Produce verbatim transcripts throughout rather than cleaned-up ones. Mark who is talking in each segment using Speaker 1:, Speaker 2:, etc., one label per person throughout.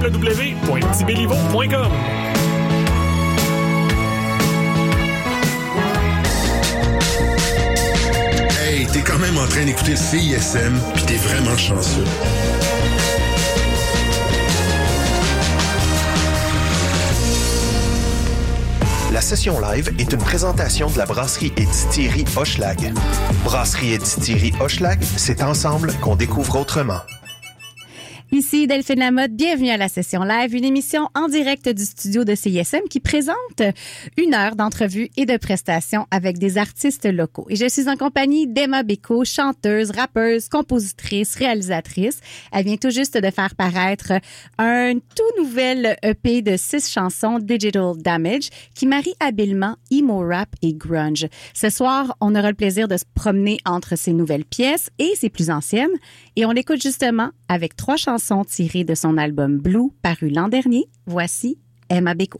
Speaker 1: w w w point tibéliveau point com.
Speaker 2: Hey, t'es quand même en train d'écouter le C I S M, pis t'es vraiment chanceux.
Speaker 3: La session live est une présentation de la brasserie et distillerie Hochelag. Brasserie et distillerie Hochelag, c'est ensemble qu'on découvre autrement.
Speaker 4: Ici Delphine Lamotte, bienvenue à la session live, une émission en direct du studio de C I S M qui présente une heure d'entrevues et de prestations avec des artistes locaux. Et je suis en compagnie d'Emma Bécaud, chanteuse, rappeuse, compositrice, réalisatrice. Elle vient tout juste de faire paraître un tout nouvel E P de six chansons, Digital Damage, qui marie habilement emo rap et grunge. Ce soir, on aura le plaisir de se promener entre ses nouvelles pièces et ses plus anciennes. Et on l'écoute justement avec trois chansons tirées de son album Blue, paru l'an dernier. Voici Emma Bécaud.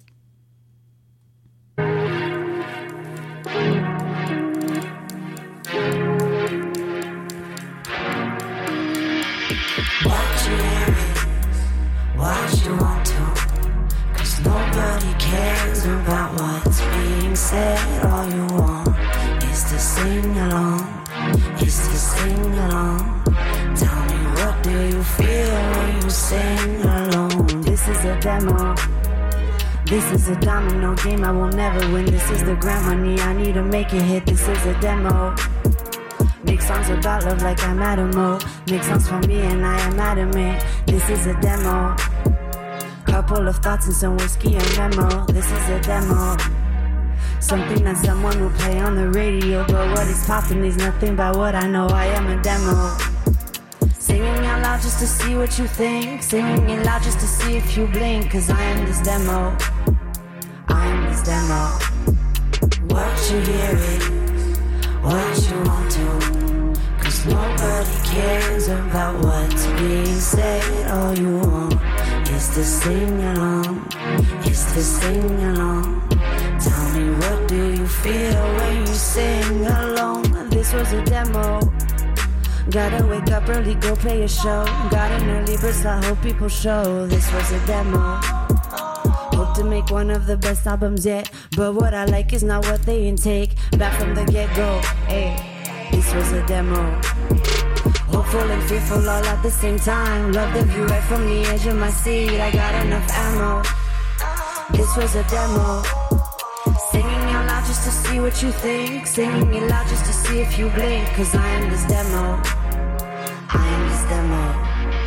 Speaker 5: Watch your ears, watch you want to, cause nobody cares about what's being said. All you want is to sing along, is to sing along. Tell me, what do you feel when you sing alone? This is a demo. This is a domino game I will never win. This is the grant money I need to make it hit. This is a demo. Make songs about love like I'm Adamo. Make songs for me and I am adamant. This is a demo. Couple of thoughts and some whiskey and memo. This is a demo. Something that someone will play on the radio. But what is popping is nothing but what I know. I am a demo. Singing out loud just to see what you think. Singing it loud just to see if you blink. Cause I am this demo. I am this demo. What you hear is what you want to. Cause nobody cares about what's being said. All you want is to sing along, is to sing along. Tell me, what do you feel when you sing along? This was a demo. Gotta wake up early, go play a show. Got an early bird slot, hope people show. This was a demo. Hope to make one of the best albums yet. But what I like is not what they intake. Back from the get-go, ayy. This was a demo. Hopeful and fearful all at the same time. Love the view right from the edge of my seat. I got enough ammo. This was a demo. Singing out loud just to see what you think. Singing it loud just to see if you blink. Cause I am this demo. I am this demo.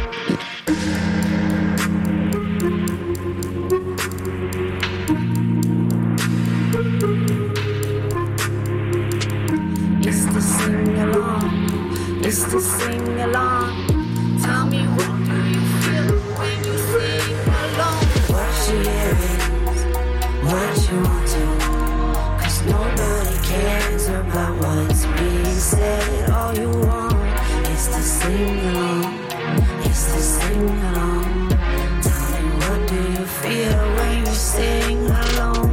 Speaker 5: It's to sing along. It's to sing along. Tell me, what do you feel when you sing along? What you hear is what you want to. Nobody cares about what's being said. All you want is to sing along, is to sing along. Tell me, what do you feel when you sing along?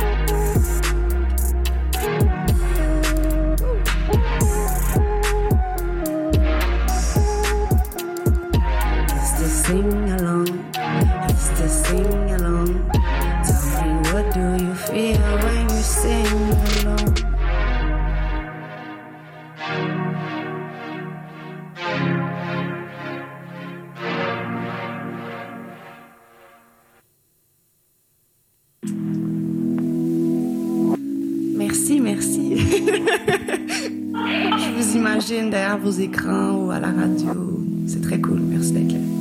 Speaker 5: It's to sing along, it's to sing along. Tell me, what do you feel when you sing along? Merci, merci. Je vous imagine derrière vos écrans ou à la radio. C'est très cool. Merci d'être là.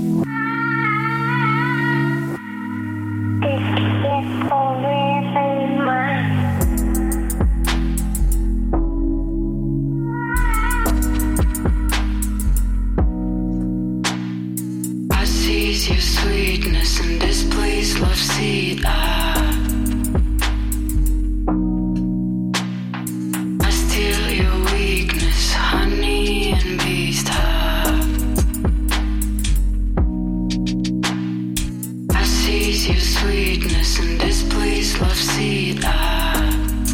Speaker 6: Your sweetness in this place, love seat. Ah. I steal your weakness, honey and beast. Ah. I seize your sweetness in this place, love seat. Ah.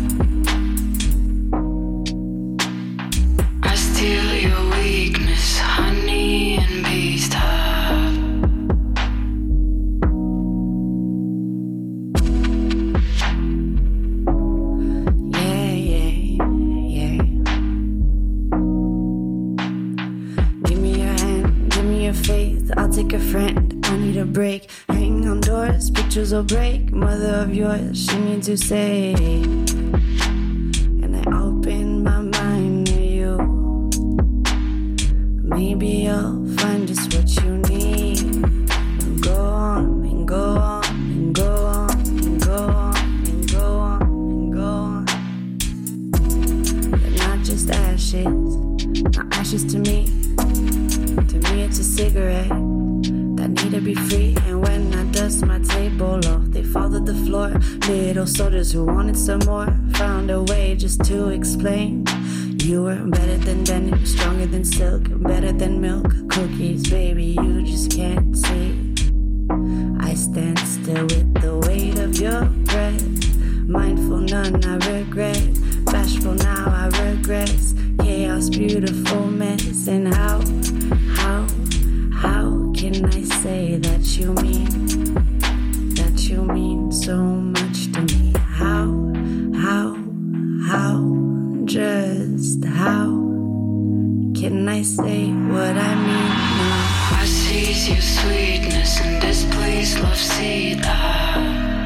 Speaker 6: I steal your weakness, honey and beast. Ah.
Speaker 5: break. Hang on doors, pictures will break. Mother of yours, she needs to say. And I open my mind to you. Maybe you'll find just what you need. And go on, and go on, and go on, and go on, and go on, and go on. But not just ashes, not ashes to me. To me it's a cigarette that need to be free. And when I dust my table off, they fall to the floor. Little soldiers who wanted some more found a way just to explain. You were better than denim, stronger than silk, better than milk cookies, baby, you just can't see. I stand still with the weight of your breath. Mindful, none I regret. Bashful, now I regress. Chaos, beautiful mess. And how, how, how can I say that you mean, that you mean so much to me? How, how, how, just how can I say what I mean now?
Speaker 6: I seize your sweetness and displace love seed. Ah.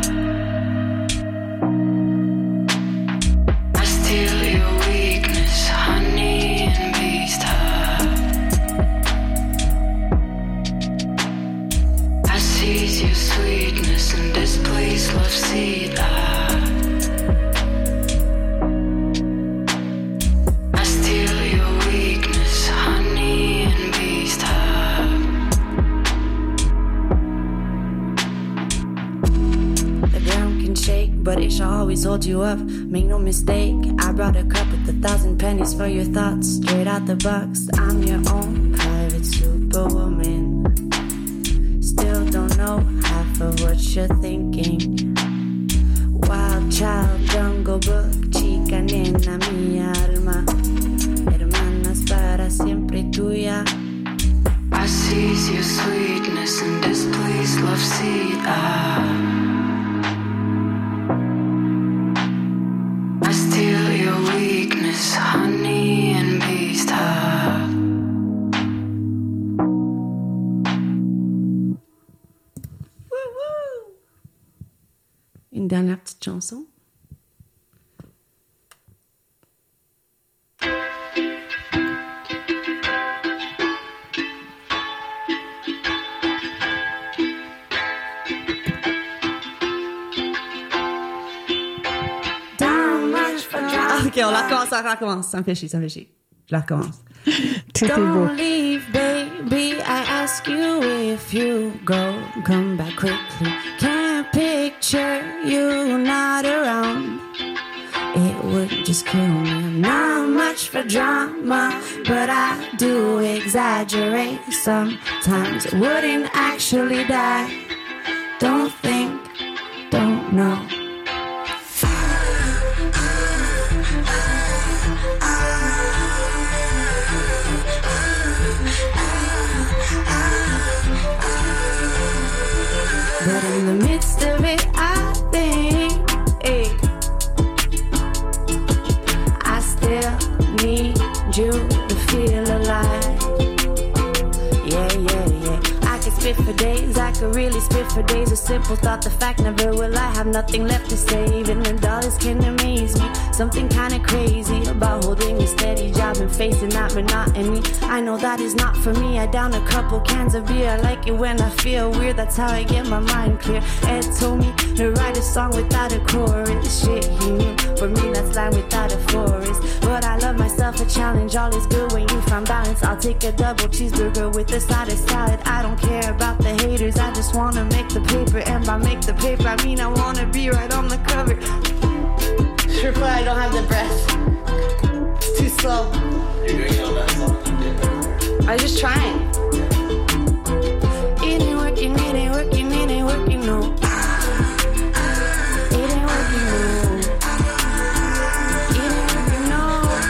Speaker 6: I steal your weakness, honey and beast. Ah. I seize your sweetness and displace love seed. Ah.
Speaker 5: But it shall always hold you up, make no mistake. I brought a cup with a thousand pennies for your thoughts. Straight out the box, I'm your own private superwoman. Still don't know half of what you're thinking. Wild child, jungle book, chica nena, mi alma. Hermanas para siempre tuya.
Speaker 6: I seize your sweetness and displace love seed. Ah. Honey and beast. Ah.
Speaker 5: Une dernière petite chanson. Ok, on la recommence, on la recommence. Ça me fait chier, ça me fait chier. Je la recommence.
Speaker 4: Tout est beau.
Speaker 5: Don't leave, baby. I ask you if you go, come back quickly. Can't picture you not around. It would just kill me. I'm not much for drama, but I do exaggerate sometimes. Wouldn't actually die. Don't think, don't know. But in the midst of it, I think, hey, I still need you to feel alive. Yeah, yeah, yeah. I could spit for days, I could really spit for days. A simple thought, the fact, never will I have nothing left to save. And the dollars can amaze me. Something kinda crazy about holding a steady job and facing that monotony. I know that is not for me. I down a couple cans of beer. I like it when I feel weird. That's how I get my mind clear. Ed told me to write a song without a chorus. Shit, he knew. For me, that's land without a forest. But I love myself a challenge. All is good when you find balance. I'll take a double cheeseburger with a side of salad. I don't care about the haters. I just wanna make the paper. And by make the paper, I mean I wanna be right on the cover. Triple, I don't have the breath. It's too slow. You're doing all that song. I was just trying. It ain't working, it ain't working, it ain't working, no. It ain't working, no. It ain't working, no.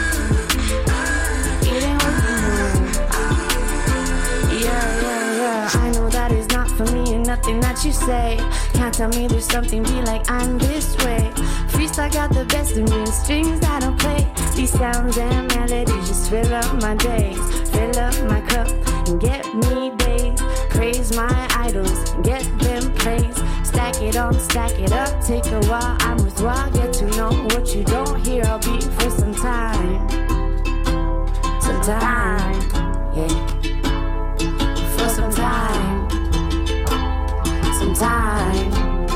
Speaker 5: It ain't working, no. Yeah, yeah, yeah. I know that is not for me and nothing that you say. Can't tell me there's something be like I'm this way. Freestyle got the best of me and strings I don't play. These sounds and melodies just fill up my days. Fill up my cup and get me days. praise my idols, get them praise. Stack it on, stack it up, take a while. I'm with while, get to know what you don't hear. I'll be for some time, some time, yeah. For some time, some time.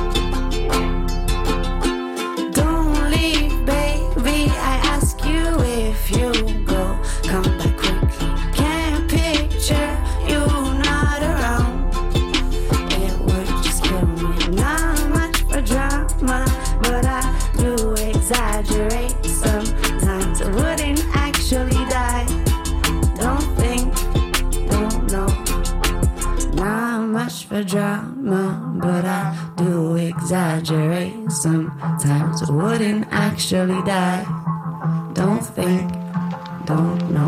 Speaker 5: Don't leave, baby. I ask you if you go, come back quickly. Can't picture you not around. It would just kill me. Not much for drama, but I do exaggerate sometimes. I wouldn't actually die. Don't think, don't know. Not much for drama, but I do exaggerate sometimes. I wouldn't actually die. Don't think, don't know.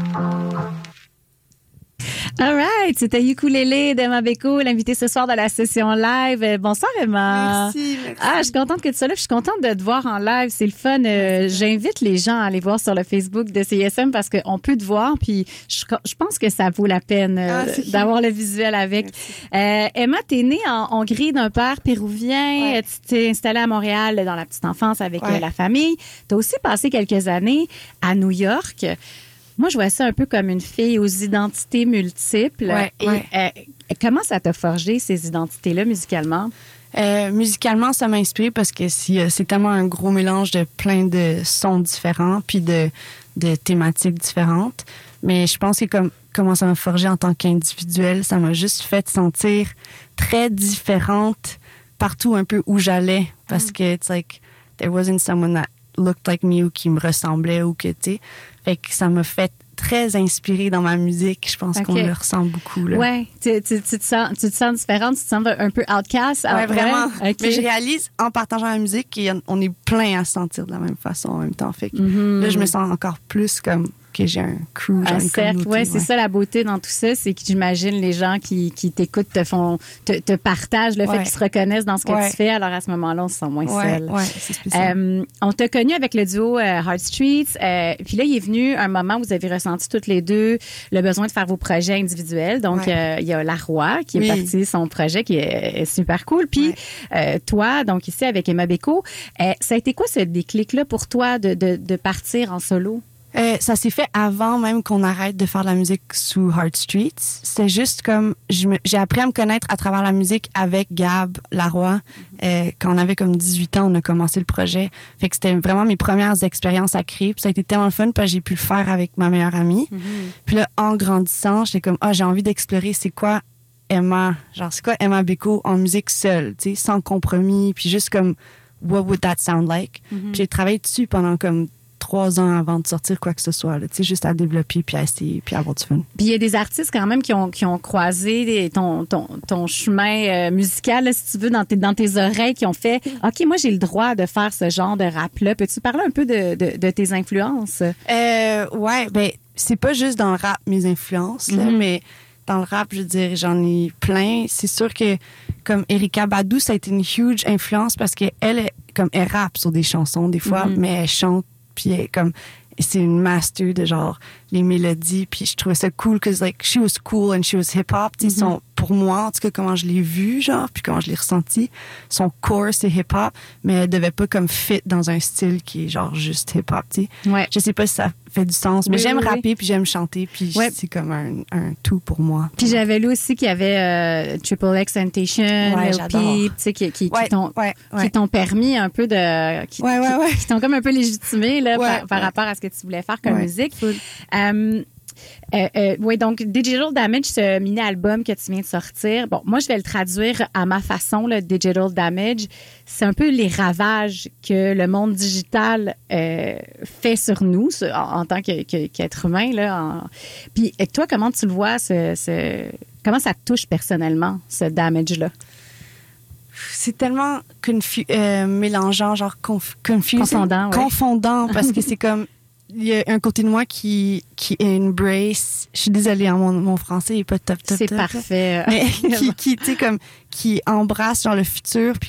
Speaker 4: All right, c'était Ukulélé d'Emma Beko, l'invitée ce soir de la session live. Euh, Bonsoir Emma.
Speaker 7: Merci, merci.
Speaker 4: Ah, je suis contente que tu sois là. Je suis contente de te voir en live. C'est le fun. Euh, j'invite les gens à aller voir sur le Facebook de C I S M parce qu'on peut te voir. Puis je, je pense que ça vaut la peine euh,
Speaker 7: Ah, c'est
Speaker 4: d'avoir le visuel avec. Euh, Emma, t'es née en Hongrie d'un père péruvien.
Speaker 7: Ouais.
Speaker 4: Tu t'es installée à Montréal dans la petite enfance avec
Speaker 7: Ouais.
Speaker 4: euh, la famille. T'as aussi passé quelques années à New York. Moi, je vois ça un peu comme une fille aux identités multiples.
Speaker 7: Ouais,
Speaker 4: Et
Speaker 7: ouais.
Speaker 4: euh, comment ça t'a forgé, ces identités-là, musicalement?
Speaker 7: Euh, musicalement, ça m'a inspiré parce que c'est, c'est tellement un gros mélange de plein de sons différents puis de, de thématiques différentes. Mais je pense que comme comment ça m'a forgé en tant qu'individuel, ça m'a juste fait sentir très différente partout un peu où j'allais parce que it's like there wasn't someone that looked like me ou qui me ressemblait ou que tu sais. Fait que ça m'a fait très inspirée dans ma musique. Je pense
Speaker 4: Ok.
Speaker 7: qu'on le ressent beaucoup. Là.
Speaker 4: Ouais, tu, tu, tu, te sens, tu te sens différente, tu te sens un peu outcast.
Speaker 7: Ouais,
Speaker 4: Ah,
Speaker 7: vraiment.
Speaker 4: Ok.
Speaker 7: Mais je réalise en partageant la musique qu'on est plein à se sentir de la même façon en même temps. Fait que
Speaker 4: Mhm.
Speaker 7: là, je me sens encore plus comme que j'ai un crew, j'ai
Speaker 4: Un
Speaker 7: une
Speaker 4: cercle,
Speaker 7: communauté.
Speaker 4: ouais, c'est ça la beauté dans tout ça, c'est que j'imagine les gens qui, qui t'écoutent te font, te, te partagent le fait
Speaker 7: Ouais.
Speaker 4: qu'ils se reconnaissent dans ce que
Speaker 7: Ouais.
Speaker 4: tu fais. Alors à ce moment-là, on se sent moins
Speaker 7: Ouais,
Speaker 4: seul.
Speaker 7: ouais, c'est spécial.
Speaker 4: Euh, on t'a connu avec le duo euh, Heart Streets. Euh, puis là, il est venu un moment où vous avez ressenti toutes les deux le besoin de faire vos projets individuels. Donc,
Speaker 7: Ouais.
Speaker 4: euh, il y a La Roi qui
Speaker 7: Oui.
Speaker 4: est parti, son projet qui est, est super cool. Puis euh, toi, donc ici avec Emma Beko, euh, ça a été quoi ce déclic-là pour toi de, de, de partir en solo?
Speaker 7: Euh, ça s'est fait avant même qu'on arrête de faire de la musique sous Heart Streets. C'était juste comme je me- j'ai appris à me connaître à travers la musique avec Gab Laroy. Euh, quand on avait comme dix-huit ans, on a commencé le projet. Fait que c'était vraiment mes premières expériences à créer. Puis ça a été tellement le fun parce que j'ai pu le faire avec ma meilleure amie. Puis là, en grandissant, j'étais comme ah j'ai envie d'explorer c'est quoi Emma, genre c'est quoi Emma Beko en musique seule, tu sais, sans compromis, puis juste comme what would that sound like. Puis j'ai travaillé dessus pendant comme trois ans avant de sortir quoi que ce soit, là, tu sais, juste à développer puis à essayer puis à avoir du fun.
Speaker 4: Puis il y a des artistes quand même qui ont, qui ont croisé des- ton, ton, ton chemin euh, musical, là, si tu veux, dans tes, dans tes oreilles, qui ont fait « OK, moi, j'ai le droit de faire ce genre de rap-là. » Peux-tu parler un peu de, de, de tes influences?
Speaker 7: Euh, ouais, ben c'est pas juste dans le rap mes influences, là,
Speaker 4: Mhm.
Speaker 7: mais dans le rap, je veux dire, j'en ai plein. C'est sûr que comme Erykah Badu, ça a été une huge influence parce que elle, est- comme elle rappe sur des chansons des fois,
Speaker 4: Mhm.
Speaker 7: mais elle chante puis elle est comme c'est une master de genre les mélodies puis je trouvais ça cool que like she was cool and she was hip hop. Tu sais, son- pour moi en tout cas comment je l'ai vu genre puis comment je l'ai ressenti, son core c'est hip hop, mais elle devait pas comme fit dans un style qui est genre juste hip hop. Tu sais,
Speaker 4: Ouais.
Speaker 7: je sais pas si ça fait du sens, mais
Speaker 4: Oui,
Speaker 7: j'aime
Speaker 4: oui, oui.
Speaker 7: rapper puis j'aime chanter puis
Speaker 4: Ouais.
Speaker 7: c'est comme un, un tout pour moi.
Speaker 4: Puis j'avais lu aussi qu'il y avait euh, Triple X Tentation,
Speaker 7: Ouais,
Speaker 4: Lil
Speaker 7: j'adore.
Speaker 4: Peep, tu sais, qui, qui, qui
Speaker 7: Ouais,
Speaker 4: t'ont
Speaker 7: ouais,
Speaker 4: qui
Speaker 7: ouais.
Speaker 4: t'ont permis un peu de... Qui,
Speaker 7: Ouais, ouais,
Speaker 4: qui-
Speaker 7: ouais.
Speaker 4: qui t'ont comme un peu légitimé là,
Speaker 7: Ouais,
Speaker 4: par, par
Speaker 7: ouais.
Speaker 4: rapport à ce que tu voulais faire comme
Speaker 7: Ouais,
Speaker 4: musique.
Speaker 7: full.
Speaker 4: Euh, euh, euh, oui, donc Digital Damage, ce mini-album que tu viens de sortir, bon, moi, je vais le traduire à ma façon, le Digital Damage. C'est un peu les ravages que le monde digital euh, fait sur nous ce- en, en tant que- que- qu'être humain. Là, en- Puis et toi, comment tu le vois, ce, ce- comment ça te touche personnellement, ce damage-là?
Speaker 7: C'est tellement confu- euh, mélangeant, genre conf- confusing.
Speaker 4: Confondant, ouais.
Speaker 7: Confondant, parce que c'est comme, il y a un côté de moi qui, qui embrace, je suis désolée, hein, mon, mon français est pas top, top,
Speaker 4: C'est
Speaker 7: top,
Speaker 4: parfait.
Speaker 7: mais qui, qui tu sais, comme, qui embrasse, genre, le futur, puis comme,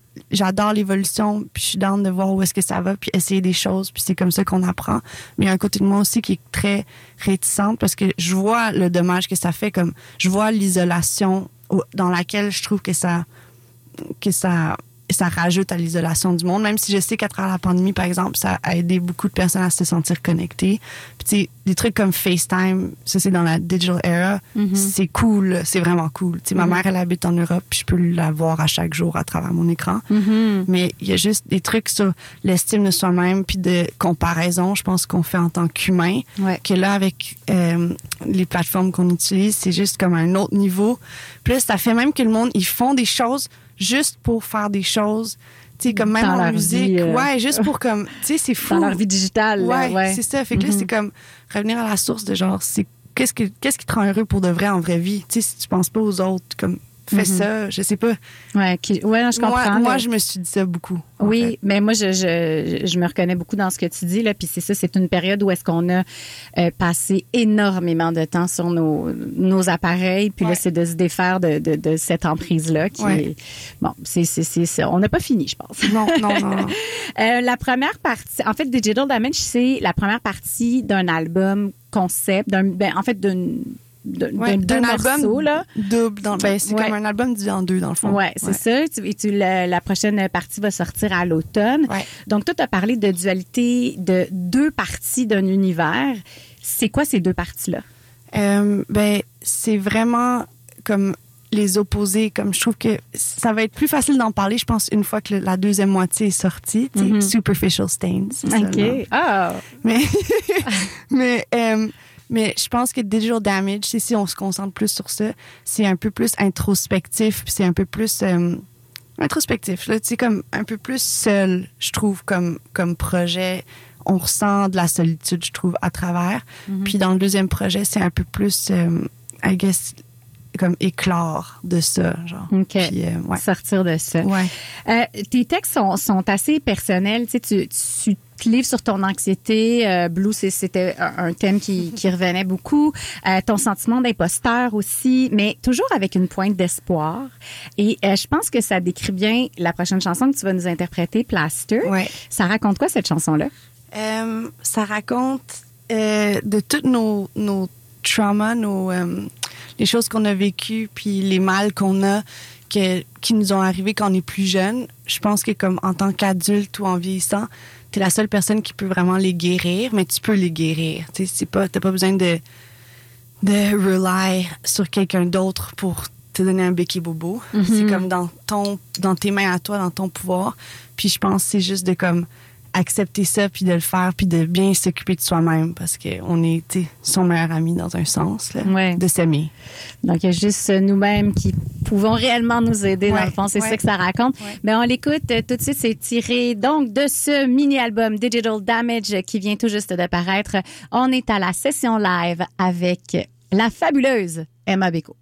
Speaker 7: j'adore l'évolution, puis je suis down de voir où est-ce que ça va, puis essayer des choses, puis c'est comme ça qu'on apprend. Mais il y a un côté de moi aussi qui est très réticente parce que je vois le dommage que ça fait, comme je vois l'isolation dans laquelle je trouve que ça que ça ça rajoute à l'isolation du monde, même si je sais qu'à travers la pandémie, par exemple, ça a aidé beaucoup de personnes à se sentir connectées. Puis tu sais, des trucs comme FaceTime, ça c'est dans la digital era, mm-hmm. c'est cool, c'est vraiment cool. Tu sais, mm-hmm. ma mère, elle habite en Europe, puis je peux la voir à chaque jour à travers mon écran. Mm-hmm. Mais il y a juste des trucs sur l'estime de soi-même, puis de comparaison, je pense qu'on fait en tant qu'humain, ouais. que là, avec euh, les plateformes qu'on utilise, c'est juste comme un autre niveau. Puis là, ça fait même que le monde, ils font des choses juste pour faire des choses, tu sais, comme même dans en musique. Vie, euh... Ouais, juste pour comme, tu sais, c'est fou.
Speaker 4: Dans leur vie digitale.
Speaker 7: Ouais,
Speaker 4: là, ouais.
Speaker 7: c'est ça. Fait que mm-hmm. là, c'est comme revenir à la source de genre, c'est qu'est-ce, que, qu'est-ce qui te rend heureux pour de vrai en vraie vie? Tu sais, si tu penses pas aux autres, comme, fais mm-hmm. ça, je sais pas.
Speaker 4: Ouais, qui, ouais non, je comprends.
Speaker 7: Moi, moi, je me suis dit ça beaucoup.
Speaker 4: Oui,
Speaker 7: fait.
Speaker 4: mais moi, je, je, je me reconnais beaucoup dans ce que tu dis, là. Puis c'est ça, c'est une période où est-ce qu'on a euh, passé énormément de temps sur nos, nos appareils. Puis ouais. là, c'est de se défaire de, de, de cette emprise-là. Qui
Speaker 7: ouais.
Speaker 4: est, bon, c'est, c'est, c'est, c'est, on n'a pas fini, je pense.
Speaker 7: Non, non, non. non.
Speaker 4: euh, la première partie, en fait, Digital Damage, c'est la première partie d'un album concept, d'un, ben, en fait, d'une De, ouais, de, d'un album morceaux, là.
Speaker 7: double. Dans, ben, c'est ouais. comme un album divisé en deux, dans le fond.
Speaker 4: Oui, c'est ouais. ça. Et tu, la, la prochaine partie va sortir à l'automne. Ouais. Donc, toi, tu as parlé de dualité de deux parties d'un univers. C'est quoi ces deux parties-là? Euh,
Speaker 7: ben, c'est vraiment comme les opposés. Comme je trouve que ça va être plus facile d'en parler, je pense, une fois que le, la deuxième moitié est sortie. Mm-hmm. Superficial Stains.
Speaker 4: OK. Ah! Oh.
Speaker 7: Mais, mais euh, Mais je pense que Digital Damage, c'est si on se concentre plus sur ça, c'est un peu plus introspectif, puis c'est un peu plus euh, introspectif, là, tu sais, comme un peu plus seul, je trouve, comme, comme projet. On ressent de la solitude, je trouve, à travers. Mm-hmm. Puis dans le deuxième projet, c'est un peu plus, euh, I guess, comme éclore de ça, genre.
Speaker 4: OK.
Speaker 7: Puis, euh, ouais.
Speaker 4: Sortir de ça.
Speaker 7: Ouais.
Speaker 4: Euh, tes textes sont, sont assez personnels, tu sais, tu, tu te livres sur ton anxiété. Euh, Blue, c'est, c'était un, un thème qui, qui revenait beaucoup. Euh, ton sentiment d'imposteur aussi, mais toujours avec une pointe d'espoir. Et euh, je pense que ça décrit bien la prochaine chanson que tu vas nous interpréter, Plaster.
Speaker 7: Ouais.
Speaker 4: Ça raconte quoi, cette chanson-là?
Speaker 7: Euh, ça raconte euh, de tous nos, nos traumas, nos, euh, les choses qu'on a vécues, puis les mal qu'on a, que, qui nous ont arrivés quand on est plus jeune. Je pense que comme en tant qu'adulte ou en vieillissant, t'es la seule personne qui peut vraiment les guérir, mais tu peux les guérir. T'sais, c'est pas, t'as pas besoin de, de rely sur quelqu'un d'autre pour te donner un béquet bobo. Mm-hmm. C'est comme dans ton, dans tes mains à toi, dans ton pouvoir. Puis je pense que c'est juste de comme accepter ça, puis de le faire, puis de bien s'occuper de soi-même, parce qu'on est, tu sais, son meilleur ami dans un sens, là,
Speaker 4: ouais.
Speaker 7: de s'aimer.
Speaker 4: Donc, il y a juste nous-mêmes qui pouvons réellement nous aider, ouais. dans le fond. C'est ouais. ça que ça raconte. Ouais. Mais on l'écoute tout de suite. C'est tiré, donc, de ce mini-album Digital Damage qui vient tout juste de paraître. On est à la session live avec la fabuleuse Emma Beko.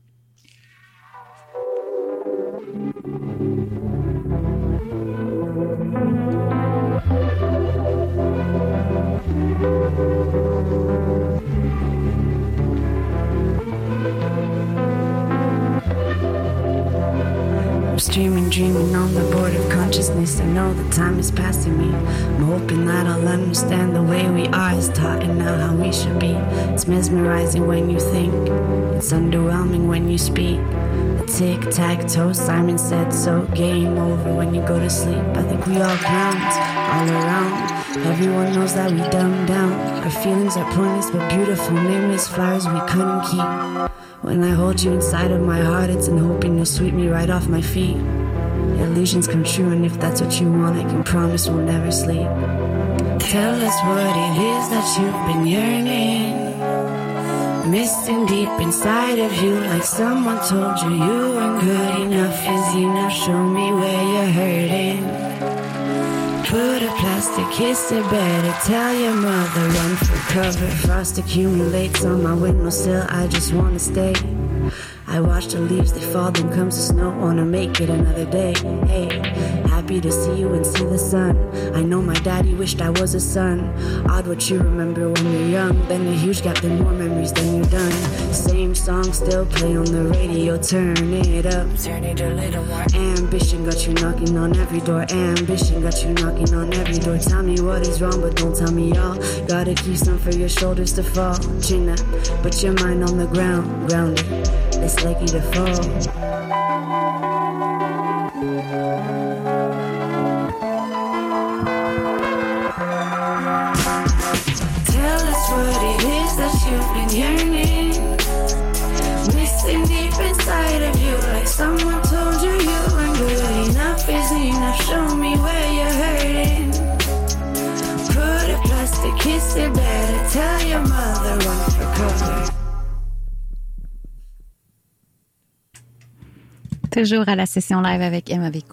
Speaker 5: I'm streaming, dreaming on the board of consciousness. I know the time is passing me. I'm hoping that I'll understand the way we are is taught and now how we should be. It's mesmerizing when you think. It's underwhelming when you speak. A tic-tac-toe, Simon said so. Game over when you go to sleep. I think we all clowns all around. Everyone knows that we dumb down. Our feelings are pointless but beautiful. Nameless flowers we couldn't keep. When I hold you inside of my heart, it's in hoping to sweep me right off my feet. Illusions come true, and if that's what you want, I can promise we'll never sleep. Tell us what it is that you've been yearning. Missing deep inside of you, like someone told you you weren't good enough. Is enough, show me where you're hurting. Put a plastic kiss to bed or tell your mother run for cover. Frost accumulates on my windowsill, I just wanna stay. I watch the leaves, they fall, then comes the snow, wanna make it another day. Hey, happy happy to see you and see the sun. I know my daddy wished I was a son. Odd what you remember when you're young. Then a huge gap, then more memories than you're done. Same song still play on the radio. Turn it up, turn it a little more. Ambition got you knocking on every door. Ambition got you knocking on every door. Tell me what is wrong, but don't tell me all. Gotta keep some for your shoulders to fall. Chin up, put your mind on the ground. Grounded, it's likely to fall. You've been yearning, missing deep inside of you, like someone told you you weren't good enough is enough. Show me where you're hurting. Put a plastic kiss in bed. Tell your mother run for cover.
Speaker 4: Toujours à la session live avec Emma Vico.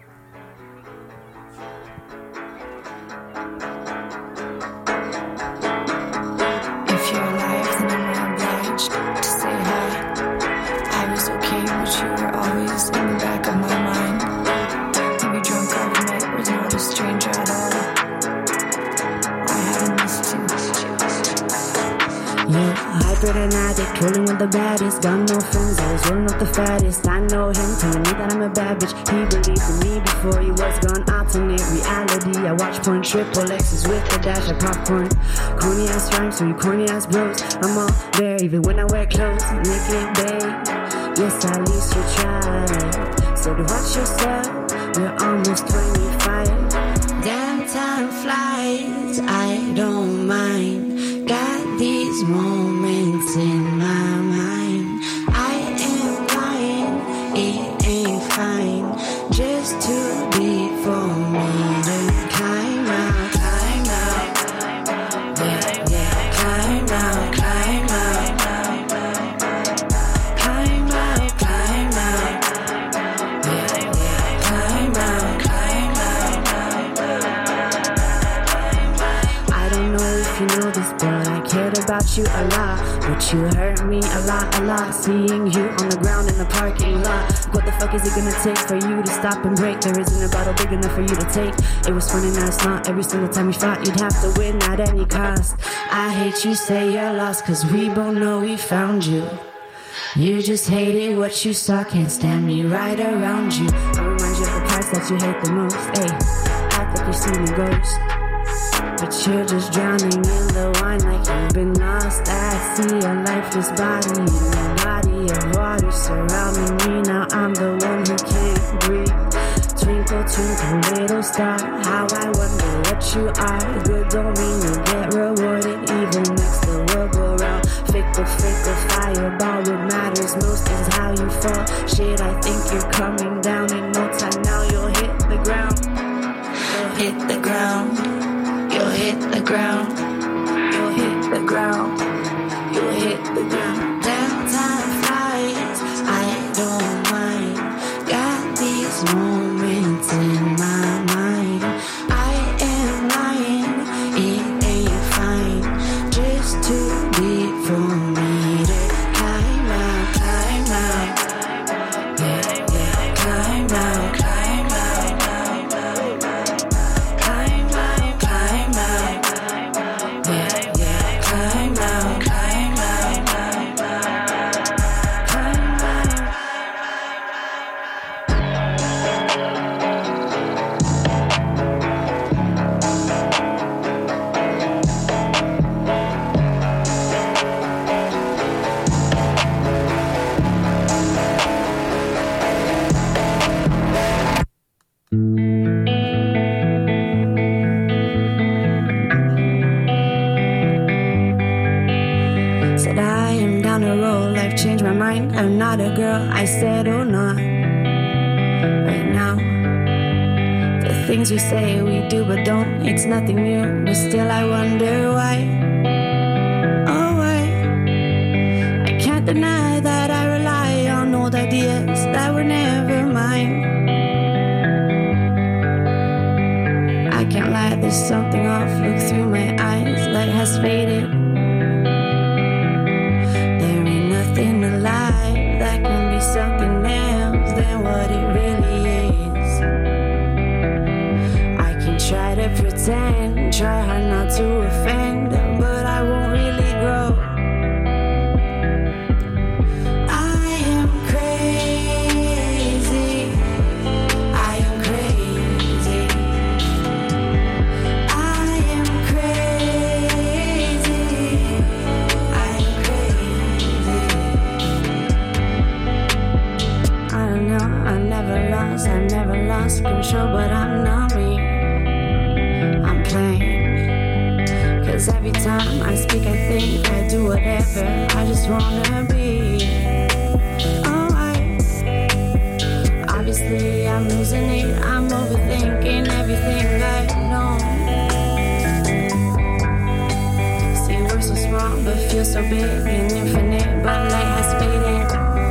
Speaker 5: Rolling with the baddest, got no friends, always rolling up the fattest. I know him, telling me that I'm a bad bitch. He believed in me before he was gone. Alternate reality, I watch porn, triple X's with a dash of popcorn. Corny ass rhymes from you corny ass bros. I'm all there, even when I wear clothes. Naked babe, yes, at least you tried. Said watch yourself, you're almost twenty-five. Damn time flies, I don't mind. Got these moments in my mind. I am lying, it ain't fine. Just too deep for me to climb out, climb out. Yeah, yeah, climb out, climb out. Climb out, climb out. Yeah, yeah, climb out, climb out. I don't know if you know this, but I cared about you a lot. But you hurt me a lot, a lot. Seeing you on the ground in the parking lot. What the fuck is it gonna take for you to stop and break? There isn't a bottle big enough for you to take. It was fun and now it's not. Every single time we fought, you'd have to win at any cost. I hate you say you're lost, cause we both know we found you. You just hated what you saw, can't stand me right around you. I remind you of the parts that you hate the most. Ayy, act like you've seen a ghost, but you're just drowning in the wine like you've been lost at sea. A lifeless body in a body of water surrounding me. Now I'm the one who can't breathe. Twinkle, twinkle, little star, how I wonder what you are. Good don't mean you get rewarded. Evil makes the world go round. Fickle, fickle, fireball. What matters most is how you fall. Shit, I think you're coming down. In no time now you'll hit the ground. You'll hit the ground. You'll hit the ground. You'll hit the ground. You'll hit the ground. Damn time flies, I don't mind. Got these moments in my mind. I am lying, it ain't fine. Just too deep for me to climb out, climb out. Yeah, yeah, climb out, climb out. Climb out, climb out. Yeah, yeah, climb out, climb out. Climb out. Said I am down a road, life changed my mind. I'm not a girl, I said oh not right now. The things we say we do but don't, it's nothing new, but still I wonder why. Oh why? I can't deny that I rely on old ideas that were never mine. I can't lie, there's something off, look through my eyes, light has faded. There ain't nothing alive that can be something else than what it really is. try hard not to offend, but I won't really grow. I am crazy. I am crazy. I am crazy. I am crazy. I don't know, I never lost, I never lost control, but I'm not me. I'm playing. Cause every time I speak, I think I do whatever I just wanna be. Oh, I obviously I'm losing it. I'm overthinking everything I know. See, we're so small, but feel so big and infinite. But light has faded.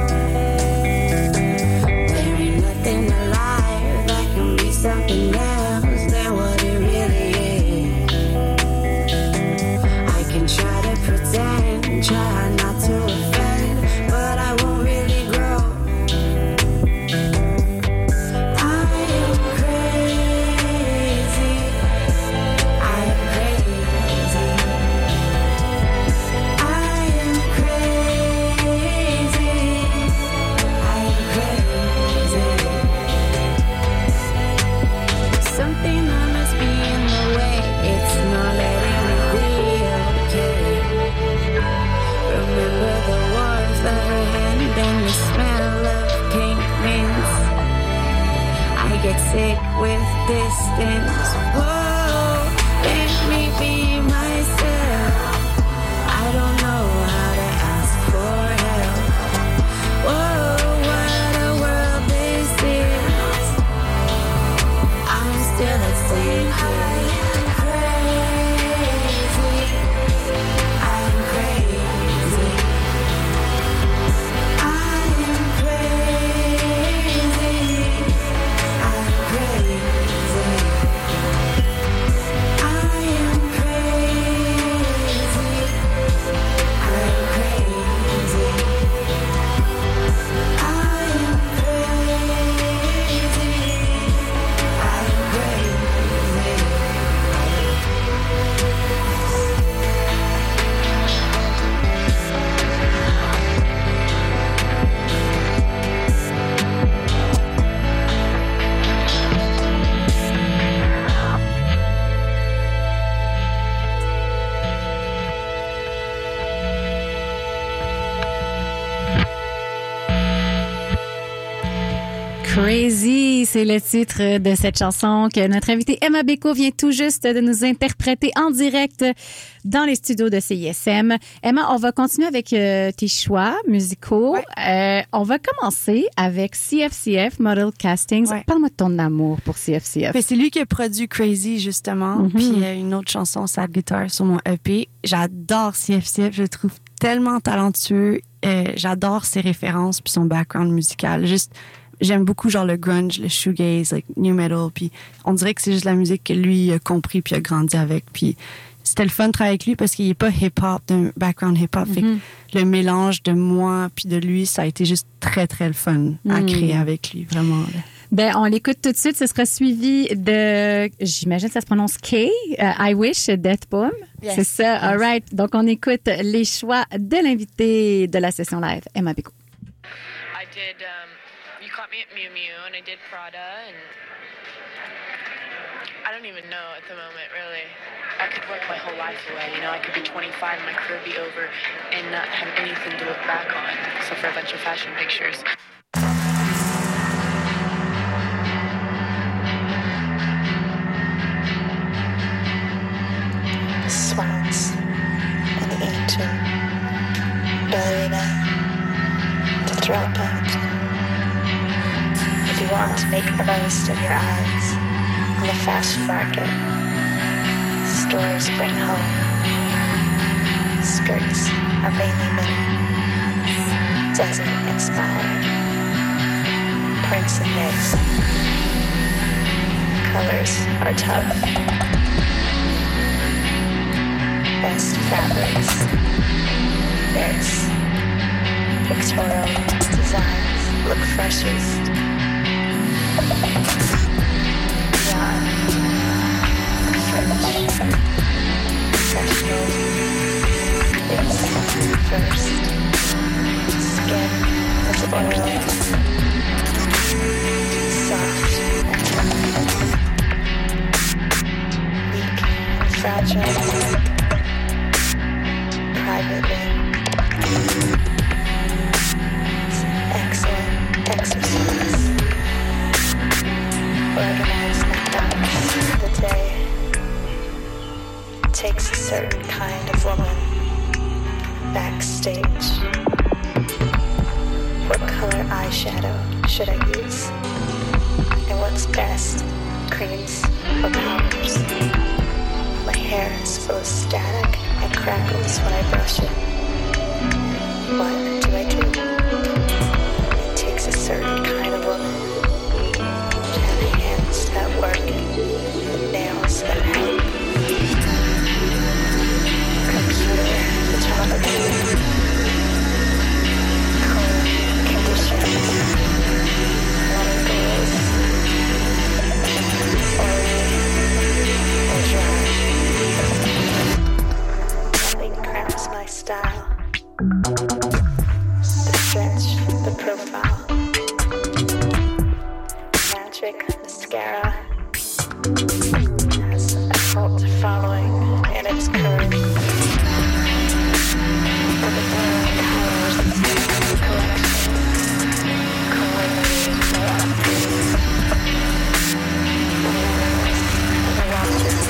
Speaker 5: There ain't nothing alive that can be something else than what it really is. I can try to pretend, try not to offend, but I won't really grow. I am crazy. I am crazy. I am crazy. I am crazy. Something that must be in the way. It's not letting me be okay. Remember the warmth of her hand and the smell of pink mints. I get sick with distance. Whoa, let me be myself. I don't know how to ask for help. Whoa, what a world this is. I'm still a sinner. I am crazy. I am crazy. I am crazy. I am crazy. I am crazy. I am crazy. I am crazy.
Speaker 4: Crazy, c'est le titre de cette chanson que notre invitée Emma Bécaud vient tout juste de nous interpréter en direct dans les studios de C I S M. Emma, on va continuer avec euh, tes choix musicaux.
Speaker 7: Ouais.
Speaker 4: Euh, on va commencer avec C F C F, Model Castings.
Speaker 7: Ouais.
Speaker 4: Parle-moi de ton amour pour C F C F.
Speaker 7: Ben, c'est lui qui a produit Crazy, justement.
Speaker 4: Mhm.
Speaker 7: Puis euh, une autre chanson, Sad Guitar, sur mon E P. J'adore C F C F. Je le trouve tellement talentueux. Euh, j'adore ses références puis son background musical. Juste, j'aime beaucoup genre le grunge, le shoegaze, like new metal. Puis on dirait que c'est juste la musique que lui a compris puis a grandi avec. Puis c'était le fun de travailler avec lui parce qu'il est pas hip-hop, d'un background hip-hop.
Speaker 4: Mm-hmm.
Speaker 7: Fait que le mélange de moi puis de lui, ça a été juste très, très le fun à
Speaker 4: Mm.
Speaker 7: créer avec lui, vraiment. Là.
Speaker 4: Ben, on l'écoute tout de suite. Ce sera suivi de, j'imagine que ça se prononce K, euh, I Wish, Death Poem.
Speaker 7: Yes.
Speaker 4: C'est ça, all right. Donc, on écoute les choix de l'invité de la session live, Emma Bécaud.
Speaker 8: I did, um, you caught me at Miu Miu, and I did Prada, and I don't even know at the moment, really. I could work my whole life away, you know, I could be twenty-five, my career be over, and not have anything to look back on, except for a bunch of fashion pictures.
Speaker 9: The swans and the ancient ballerina to drop out. If you want to make the most of your eyes on the fashion market, stores bring home skirts are mainly mini, desert inspired, prints and knits. Colors are tough. Best fabrics, knits, pictorial designs look freshest. Yarn, fringe, fragile. Privately. It's an excellent exercise. Organize my thoughts of the day. It takes a certain kind of woman. Backstage. What color eyeshadow should I use? And what's best, creams or powders? My hair is full of static and crackles when I brush it. What do I do? It takes a certain kind of woman to have hands that work, nails that help. Computer photography, color conditions, water goals, oily or dry. Nothing cramps my style. The stretch, the profile, magic mascara has a cult following in its curve. For the blurring colors, collection, coordinated philosophy, awareness of the watches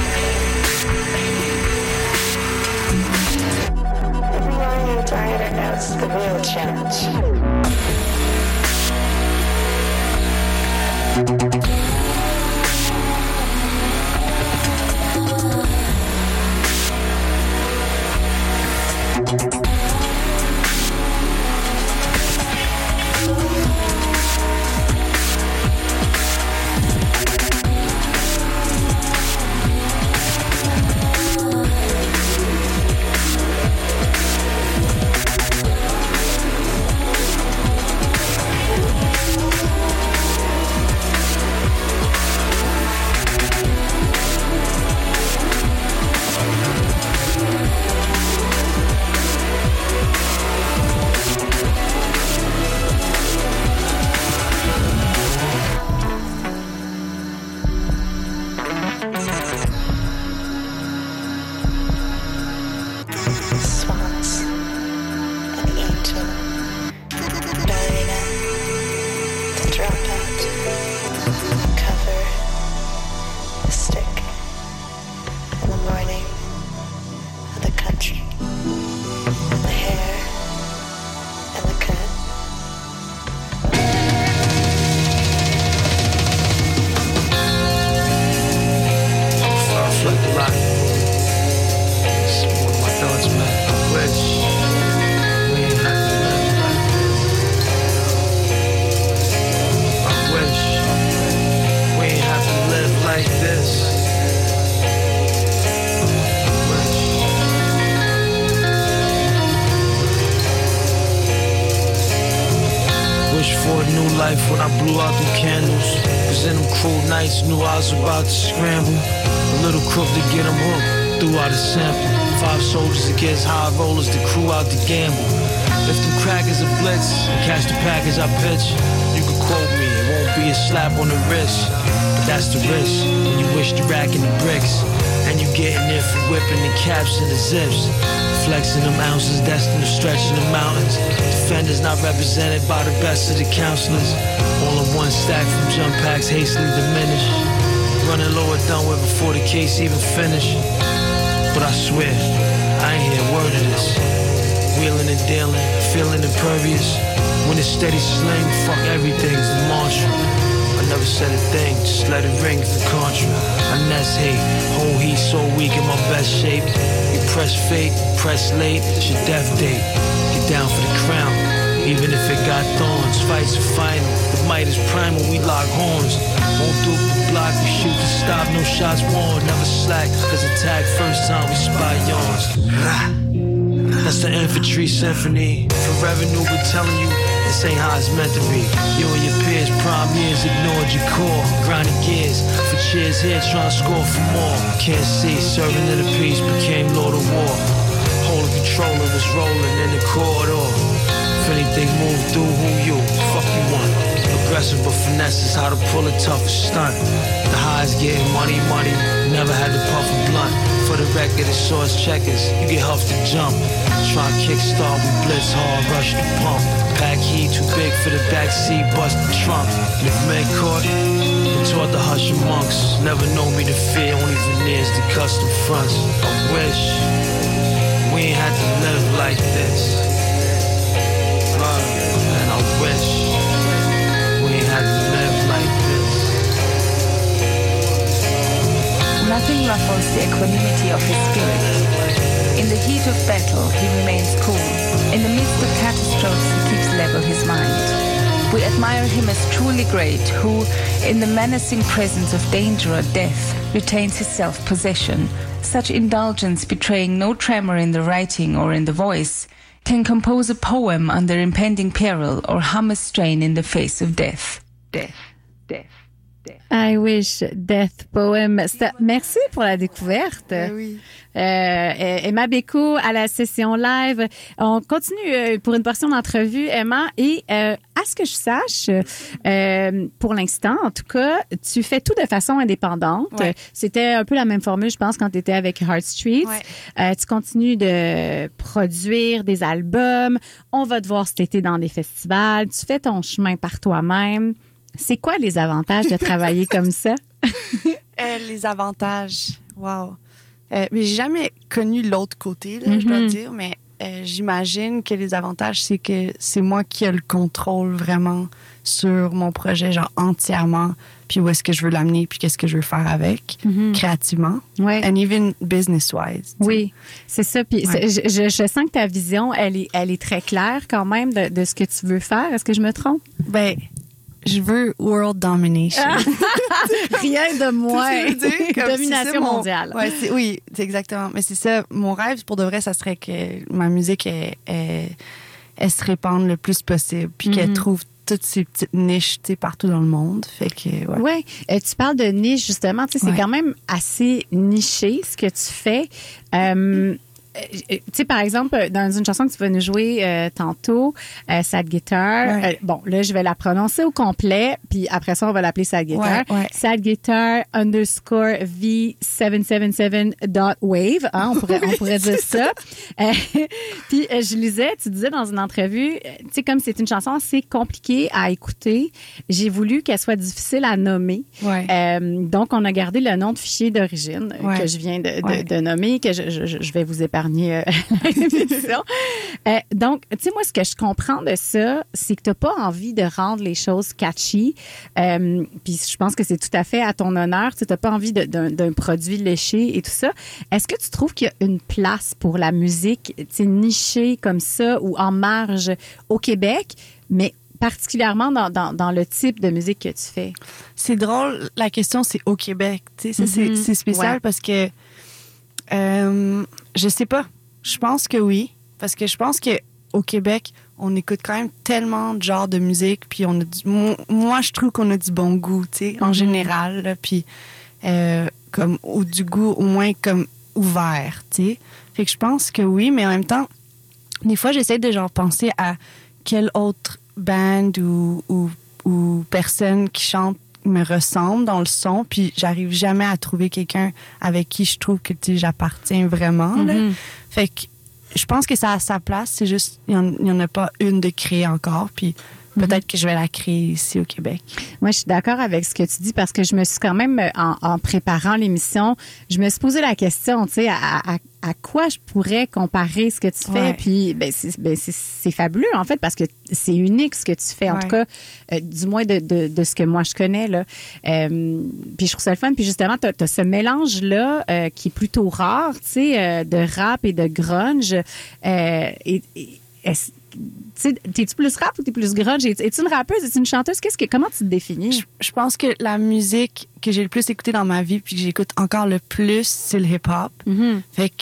Speaker 9: inside. Everyone in the diner knows the real challenge.
Speaker 10: When I blew out the candles, cause in them cruel nights knew I was about to scramble. A little crook to get them hooked, threw out a sample. Five soldiers against high rollers, the crew out to gamble. If them crackers are blitz, catch the package I pitch, you can quote me, it won't be a slap on the wrist. But that's the risk, when you wish the rack in the bricks. And you getting it for whipping the caps and the zips. Flexing them ounces, destined to stretch in the mountains. Defenders not represented by the best of the counselors. All in one stack from jump packs hastily diminished. Running lower done with before the case even finished. But I swear, I ain't hear a word of this. Wheeling and dealing, feeling impervious. When it's steady sling, fuck everything's the mantra. I never said a thing, just let it ring for contra. I nest hate, whole heat so weak in my best shape. You press fate, press late, it's your death date. Get down for the crown, even if it got thorns. Fights are final, the might is primal, we lock horns. Won't do the block, we shoot to stop, no shots worn. Never slack, cause attack first time we spy yawns. That's the infantry symphony. For revenue, we're telling you, this ain't how it's meant to be. You and your peers, prime years, ignored your core. Grinding gears, for cheers here, trying to score for more. Can't see, serving in the peace, became Lord of War. Holding control of us rolling in the corridor. If anything moved through, who you? Fuck you want. aggressive, but finesse is how to pull a toughest stunt. The highs getting money, money, never had to puff a blunt. For the record, it's source checkers, you get huffed to jump. Try kickstart, we blitz hard, rush the pump. Pack heat too big for the backseat, bust the trunk. And if men caught, been taught to hush amongst. Never know me to fear, only veneers the custom fronts. I wish we ain't had to live like this. Uh, and I wish we ain't had to live like this.
Speaker 11: Nothing ruffles the equanimity of his spirit. In the heat of battle, he remains cool. In the midst of catastrophes, he keeps level his mind. We admire him as truly great, who, in the menacing presence of danger or death, retains his self-possession. Such indulgence, betraying no tremor in the writing or in the voice, can compose a poem under impending peril or hum a strain in the face of death. Death, death.
Speaker 4: I wish Death Poem. C'est- Merci pour la découverte.
Speaker 7: Oui.
Speaker 4: Euh, Emma Bécaud à la session live. On continue euh, pour une portion d'entrevue, Emma. Et euh, à ce que je sache, euh, pour l'instant, en tout cas, tu fais tout de façon indépendante.
Speaker 7: Ouais.
Speaker 4: C'était un peu la même formule, je pense, quand tu étais avec Heart Streets.
Speaker 7: Ouais.
Speaker 4: Euh, tu continues de produire des albums. On va te voir cet été dans des festivals. Tu fais ton chemin par toi-même. C'est quoi les avantages de travailler comme ça?
Speaker 7: Euh, les avantages, wow. Euh, mais j'ai jamais connu l'autre côté, là, je dois
Speaker 4: Mhm.
Speaker 7: dire, mais euh, j'imagine que les avantages, c'est que c'est moi qui ai le contrôle vraiment sur mon projet, genre entièrement, puis où est-ce que je veux l'amener, puis qu'est-ce que je veux faire avec,
Speaker 4: Mhm.
Speaker 7: créativement,
Speaker 4: Ouais.
Speaker 7: and even business-wise. tu sais.
Speaker 4: Oui, c'est ça. Puis
Speaker 7: Ouais.
Speaker 4: c'est- je, je, je sens que ta vision, elle est, elle est très claire quand même de, de ce que tu veux faire. Est-ce que je me trompe?
Speaker 7: Ben, je veux world domination.
Speaker 4: Rien de moins.
Speaker 7: Tu sais, comme c'est ça,
Speaker 4: Domination
Speaker 7: mon-
Speaker 4: mondiale.
Speaker 7: Ouais, c'est- oui, c'est exactement. Mais c'est ça, mon rêve, pour de vrai, ça serait que ma musique, elle, elle- elle se répande le plus possible, puis qu'elle
Speaker 4: Mhm.
Speaker 7: trouve toutes ces petites niches, tu sais, partout dans le monde. Fait que, ouais.
Speaker 4: Ouais, euh, tu parles de niche justement, tu sais, c'est
Speaker 7: Ouais.
Speaker 4: quand même assez niché ce que tu fais. Euh, euh, tu sais, par exemple, dans une chanson que tu vas nous jouer euh, tantôt, euh, Sad Guitar,
Speaker 7: Ouais.
Speaker 4: euh, bon, là, je vais la prononcer au complet, puis après ça, on va l'appeler Sad Guitar.
Speaker 7: Ouais, ouais.
Speaker 4: Sad Guitar underscore V sept sept sept dot wave, hein, on pourrait, on pourrait dire ça. Euh, puis euh, je lisais, tu disais dans une entrevue, euh, tu sais, comme c'est une chanson assez compliquée à écouter, j'ai voulu qu'elle soit difficile à nommer.
Speaker 7: Ouais.
Speaker 4: Euh, donc, on a gardé le nom de fichier d'origine euh,
Speaker 7: Ouais.
Speaker 4: que je viens de, de,
Speaker 7: Ouais.
Speaker 4: de nommer, que je, je, je vais vous épargner euh, la répétition. Euh, donc, tu sais, moi, ce que je comprends de ça, c'est que tu n'as pas envie de rendre les choses catchy. Euh, Puis je pense que c'est tout à fait à ton honneur. Tu n'as pas envie de- d'un d'un produit léché et tout ça. Est-ce que tu trouves qu'il y a une place pour la musique, tu sais, nichée comme ça ou en marge au Québec, mais particulièrement dans, dans, dans le type de musique que tu fais?
Speaker 7: C'est drôle, la question, c'est au Québec. Tu sais, ça, c'est-
Speaker 4: Mhm.
Speaker 7: c'est spécial
Speaker 4: Ouais.
Speaker 7: parce que euh, je sais pas. Je pense que oui. Parce que je pense que au Québec, on écoute quand même tellement de genres de musique. Puis on a du, mo- moi, je trouve qu'on a du bon goût, tu sais, en
Speaker 4: Mhm.
Speaker 7: général. Là, puis euh, comme, ou du goût au moins comme ouvert, tu sais. Fait que je pense que oui, mais en même temps, des fois, j'essaie de genre penser à quelle autre band ou, ou, ou personne qui chante me ressemble dans le son, puis j'arrive jamais à trouver quelqu'un avec qui je trouve que tu sais, j'appartiens vraiment. Là.
Speaker 4: Mhm.
Speaker 7: Fait que je pense que ça a sa place, c'est juste il n'y en a pas une de créée encore, puis peut-être que je vais la créer ici au Québec.
Speaker 4: Moi, je suis d'accord avec ce que tu dis parce que je me suis quand même, en, en préparant l'émission, je me suis posé la question, tu sais, à, à, à quoi je pourrais comparer ce que tu fais.
Speaker 7: Ouais.
Speaker 4: Puis, ben, c'est, ben, c'est, c'est fabuleux, en fait, parce que c'est unique ce que tu fais, en
Speaker 7: Ouais.
Speaker 4: tout cas, euh, du moins de, de, de ce que moi je connais, là. Euh, puis je trouve ça le fun. Puis justement, tu as ce mélange-là euh, qui est plutôt rare, tu sais, euh, de rap et de grunge. Euh, et, et- est-ce- tu sais, t'es-tu plus rap ou t'es plus grunge? Es- Es-tu une rappeuse? Es-tu une chanteuse? Qu'est-ce que, comment tu te définis?
Speaker 7: Je, je pense que la musique que j'ai le plus écoutée dans ma vie, puis que j'écoute encore le plus, c'est le hip-hop.
Speaker 4: Mhm.
Speaker 7: Fait que, tu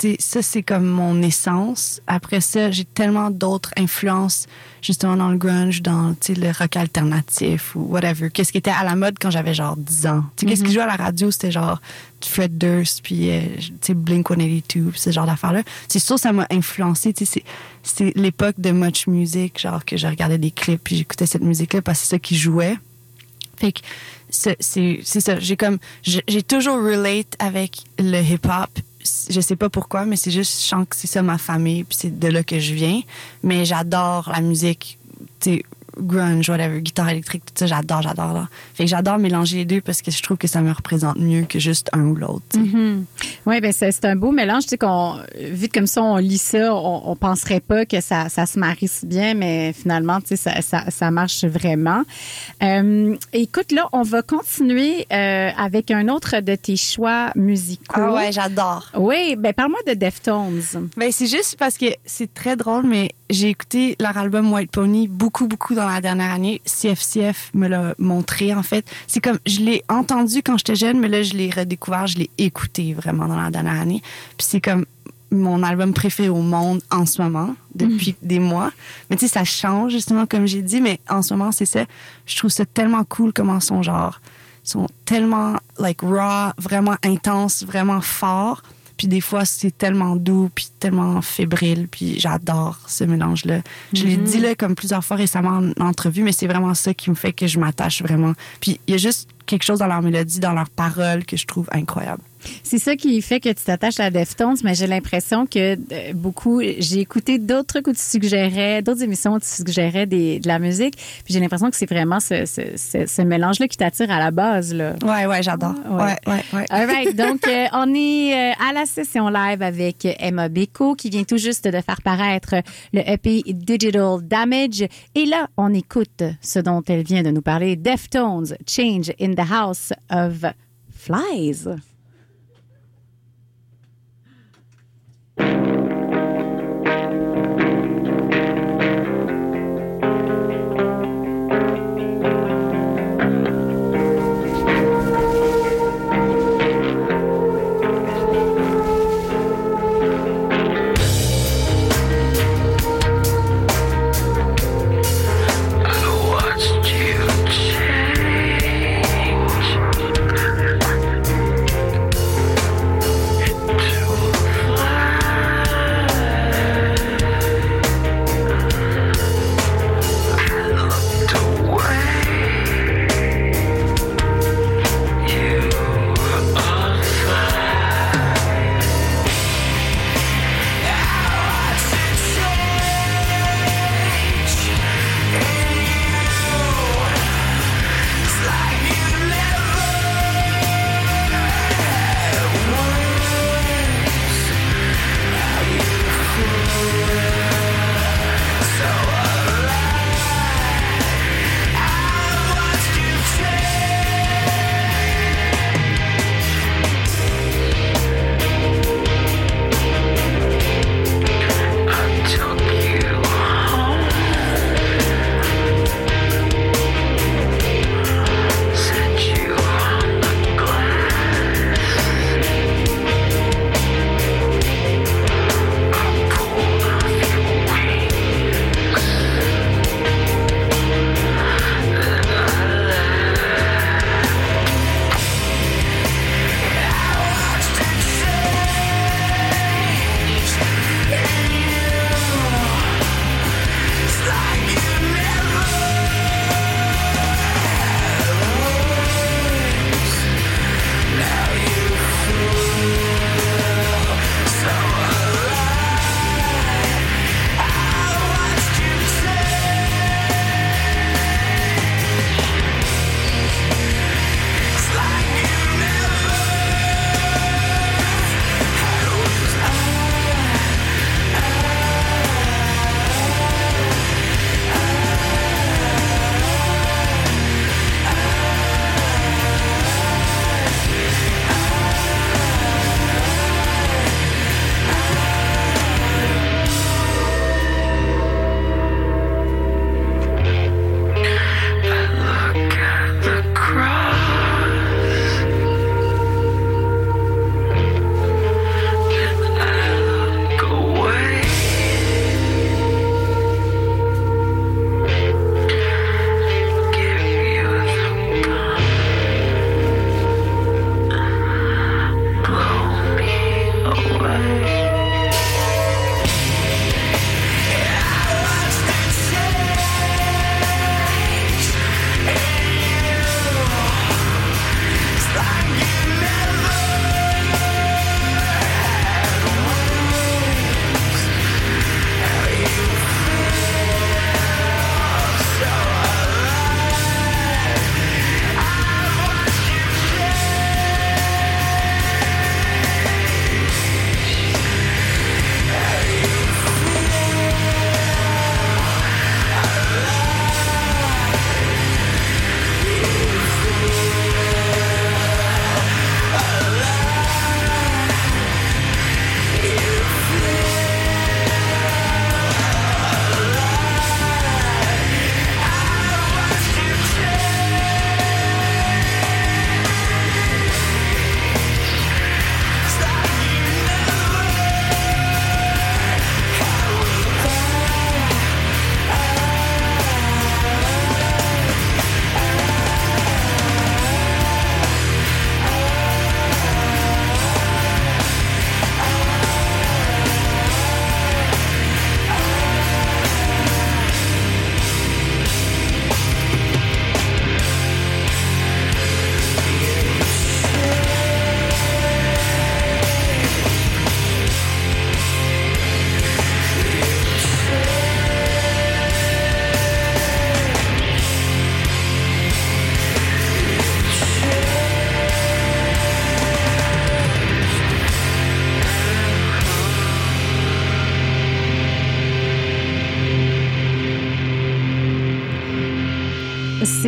Speaker 7: tu sais, ça, c'est comme mon essence. Après ça, j'ai tellement d'autres influences, justement, dans le grunge, dans, tu sais, le rock alternatif ou whatever. Qu'est-ce qui était à la mode quand j'avais genre dix ans? Tu sais, mm-hmm. qu'est-ce qui jouait à la radio? C'était genre Fred Durst, puis, euh, tu sais, Blink one eighty-two, puis ce genre d'affaires-là. C'est sûr, ça m'a influencé, tu sais, c'est, c'est l'époque de Much Music, genre que je regardais des clips, puis j'écoutais cette musique-là parce que c'est ça qui jouait. Fait que c'est, c'est, c'est ça. J'ai comme, j'ai, j'ai toujours relate avec le hip-hop. Je sais pas pourquoi, mais c'est juste, je sens que c'est ça ma famille, puis c'est de là que je viens. Mais j'adore la musique, tu sais, grunge, whatever, guitare électrique, tout ça, j'adore, j'adore. Là. Fait que j'adore mélanger les deux parce que je trouve que ça me représente mieux que juste un ou l'autre.
Speaker 4: Mm-hmm. Oui, ben c'est, c'est un beau mélange. Tu sais, qu'on, vu comme ça, on lit ça, on, on penserait pas que ça, ça se marie si bien, mais finalement, tu sais, ça, ça, ça marche vraiment. Euh, écoute, là, on va continuer euh, avec un autre de tes choix musicaux.
Speaker 7: Ah ouais, j'adore.
Speaker 4: Oui, ben parle-moi de Deftones.
Speaker 7: Ben c'est juste parce que c'est très drôle, mais j'ai écouté leur album White Pony beaucoup, beaucoup dans la dernière année. C F C F me l'a montré, en fait. C'est comme, je l'ai entendu quand j'étais jeune, mais là, je l'ai redécouvert, je l'ai écouté vraiment dans la dernière année. Puis c'est comme mon album préféré au monde en ce moment, depuis mmh. des mois. Mais tu sais, ça change, justement, comme j'ai dit, mais en ce moment, c'est ça. Je trouve ça tellement cool comment son genre, sont tellement, like, raw, vraiment intense, vraiment fort. Puis des fois, c'est tellement doux, puis tellement fébrile, puis j'adore ce mélange-là. Mm-hmm. Je l'ai dit là comme plusieurs fois récemment en entrevue, mais c'est vraiment ça qui me fait que je m'attache vraiment. Puis il y a juste quelque chose dans leur mélodie, dans leurs paroles que je trouve incroyable.
Speaker 4: C'est ça qui fait que tu t'attaches à Deftones, mais j'ai l'impression que euh, beaucoup... J'ai écouté d'autres trucs où tu suggérais, d'autres émissions où tu suggérais des, de la musique, puis j'ai l'impression que c'est vraiment ce, ce, ce, ce mélange-là qui t'attire à la base, là.
Speaker 7: Ouais, ouais, j'adore. Ouais, ouais, ouais. ouais.
Speaker 4: All right, donc euh, on est euh, à la session live avec Emma Beko, qui vient tout juste de faire paraître le E P Digital Damage. Et là, on écoute ce dont elle vient de nous parler, Deftones, Change in the House of Flies.
Speaker 6: Change.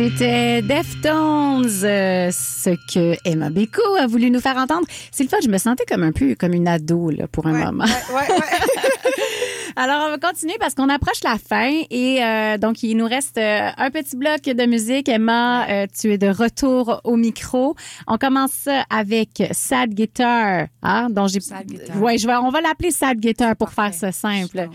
Speaker 4: C'était Deftones, euh, ce que Emma Beko a voulu nous faire entendre. C'est le fait, je me sentais comme un peu comme une ado là, pour un
Speaker 7: ouais,
Speaker 4: moment.
Speaker 7: Ouais, ouais, ouais.
Speaker 4: Alors, on va continuer parce qu'on approche la fin et euh, donc, il nous reste euh, un petit bloc de musique. Emma, euh, tu es de retour au micro. On commence ça avec Sad Guitar. Hein, dont j'ai...
Speaker 7: Sad Guitar.
Speaker 4: Ouais, je vais, on va l'appeler Sad Guitar pour Parfait. Faire ça simple.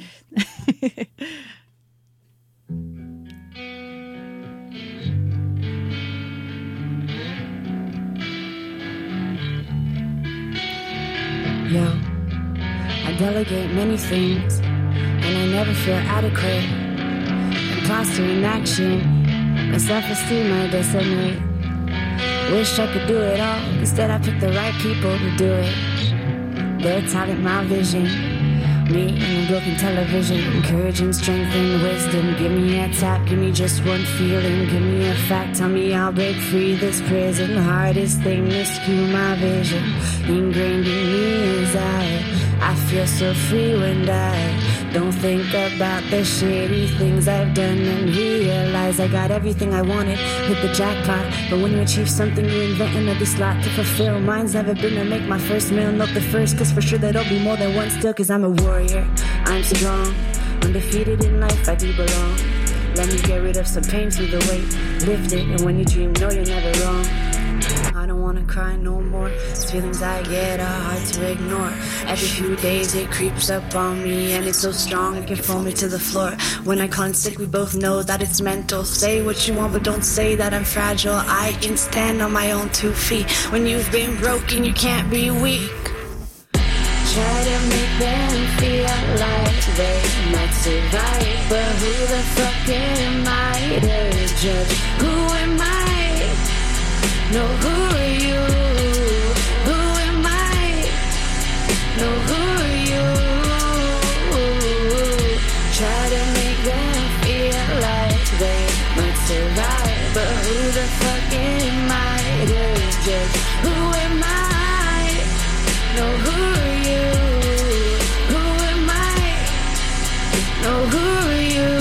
Speaker 12: Yo, I delegate many things, and I never feel adequate. Imposter in action, my self-esteem I decimate. Wish I could do it all, instead I pick the right people to do it. Their talent, my vision. Me and a broken television, encouraging strength and wisdom. Give me a tap, give me just one feeling. Give me a fact, tell me I'll break free this prison. Hardest thing to skew my vision. Ingrained in me is I, I feel so free when I don't think about the shitty things I've done and realize I got everything I wanted, hit the jackpot. But when you achieve something, you invent another slot to fulfill. Mine's never been to make my first meal, not the first, cause for sure that'll be more than one still, cause I'm a warrior, I'm strong, undefeated in life, I do belong. Let me get rid of some pain through the weight, lift it, and when you dream, know you're never wrong. I don't wanna cry no more. These feelings I get are hard to ignore. Every few days it creeps up on me, and it's so strong it can throw me to the floor. When I call in sick, we both know that it's mental. Say what you want, but don't say that I'm fragile. I can stand on my own two feet. When you've been broken, you can't be weak. Try to make them feel like they might survive, but who the fuck am I to judge? Who am I? No, who are you? Who am I? No, who are you? Try to make them feel like they might survive, but who the fuck am I to judge? Who am I? No, who are you? Who am I? No, who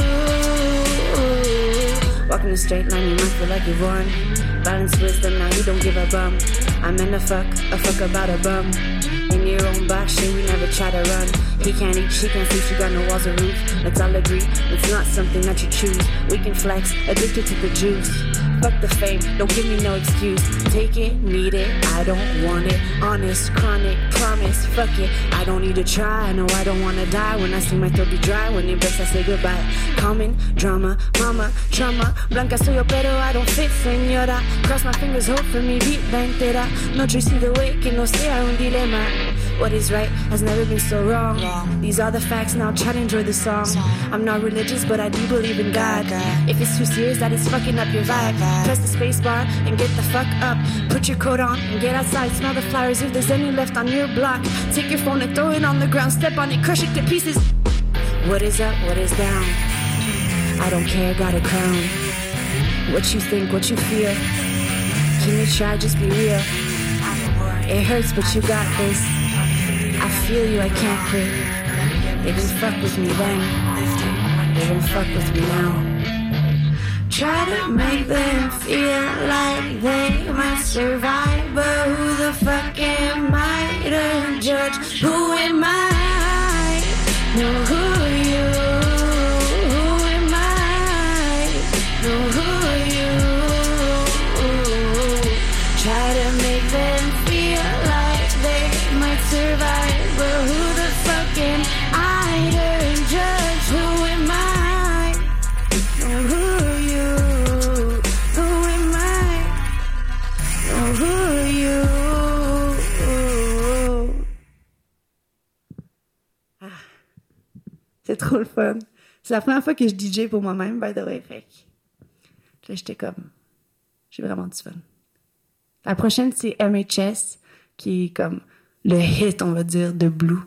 Speaker 12: are you? Walking a straight line, you might feel like you're born. Balance wisdom, now you don't give a bum. I'm in a fuck, a fuck about a bum. In your own box, shit, we never try to run. He can't eat, she can't see, she got no walls or roof. Let's all agree, it's not something that you choose. We can flex, addicted to the juice. Fuck the fame, don't give me no excuse. Take it, need it, I don't want it. Honest, chronic, promise, fuck it. I don't need to try, I know I don't wanna die. When I see my throat be dry, when it breaks I say goodbye. Common, drama, mama, trauma. Blanca soy yo pero I don't fit, señora. Cross my fingers, hope for me, vida entera. No choice either way, que no sea un dilema. What is right has never been so wrong. wrong. These are the facts, now try to enjoy the song. song. I'm not religious, but I do believe in God. God. If it's too serious, that is fucking up your vibe. God. Press the space bar and get the fuck up. Put your coat on and get outside. Smell the flowers if there's any left on your block. Take your phone and throw it on the ground. Step on it, crush it to pieces. What is up, what is down? I don't care, got a crown. What you think, what you feel. Can you try, just be real. It hurts, but you got this. I feel you, I can't quit. They didn't fuck with me then. They didn't fuck with me now. Try to make them feel like they might survive, but who the fuck am I to judge? Who am I? No, who are you? Who am I? No, who are you? Try to make them feel like they might survive. But who the fuck am I to judge? Who am I? Oh, who are you? Who am I? Oh, who are you? Ah, c'est trop le fun. C'est la première fois que je D J pour moi-même, by the way. Fait que là, j'étais comme... J'ai vraiment du fun. La prochaine, c'est M H S, qui est comme... le hit, on va dire, de Blue.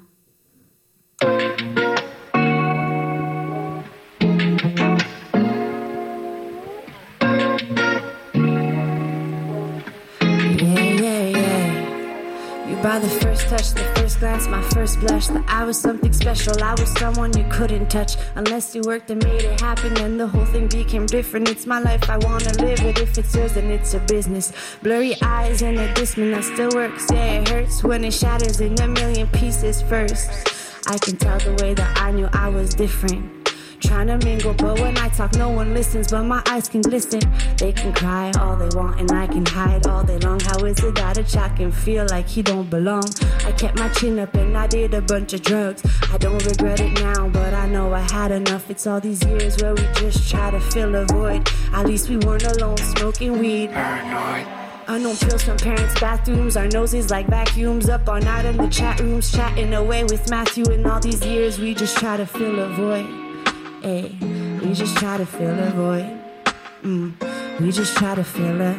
Speaker 12: Yeah, yeah, yeah. You By the first touch, the first glance, my first blush, that I was something special. I was someone you couldn't touch unless you worked and made it happen. And the whole thing became different. It's my life, I wanna live it. If it's yours, then it's a business. Blurry eyes and a discman that still works. Yeah, it hurts when it shatters in a million pieces first. I can tell the way that I knew I was different. Trying to mingle, but when I talk, no one listens. But my eyes can glisten. They can cry all they want, and I can hide all day long. How is it that a child can feel like he don't belong? I kept my chin up and I did a bunch of drugs. I don't regret it now, but I know I had enough. It's all these years where we just try to fill a void. At least we weren't alone smoking weed. Paranoid. Unknown pills from parents' bathrooms. Our noses like vacuums. Up all night in the chat rooms, chatting away with Matthew. And all these years we just try to fill a void. Hey, we just try to fill a void. Mm, we just try to fill a,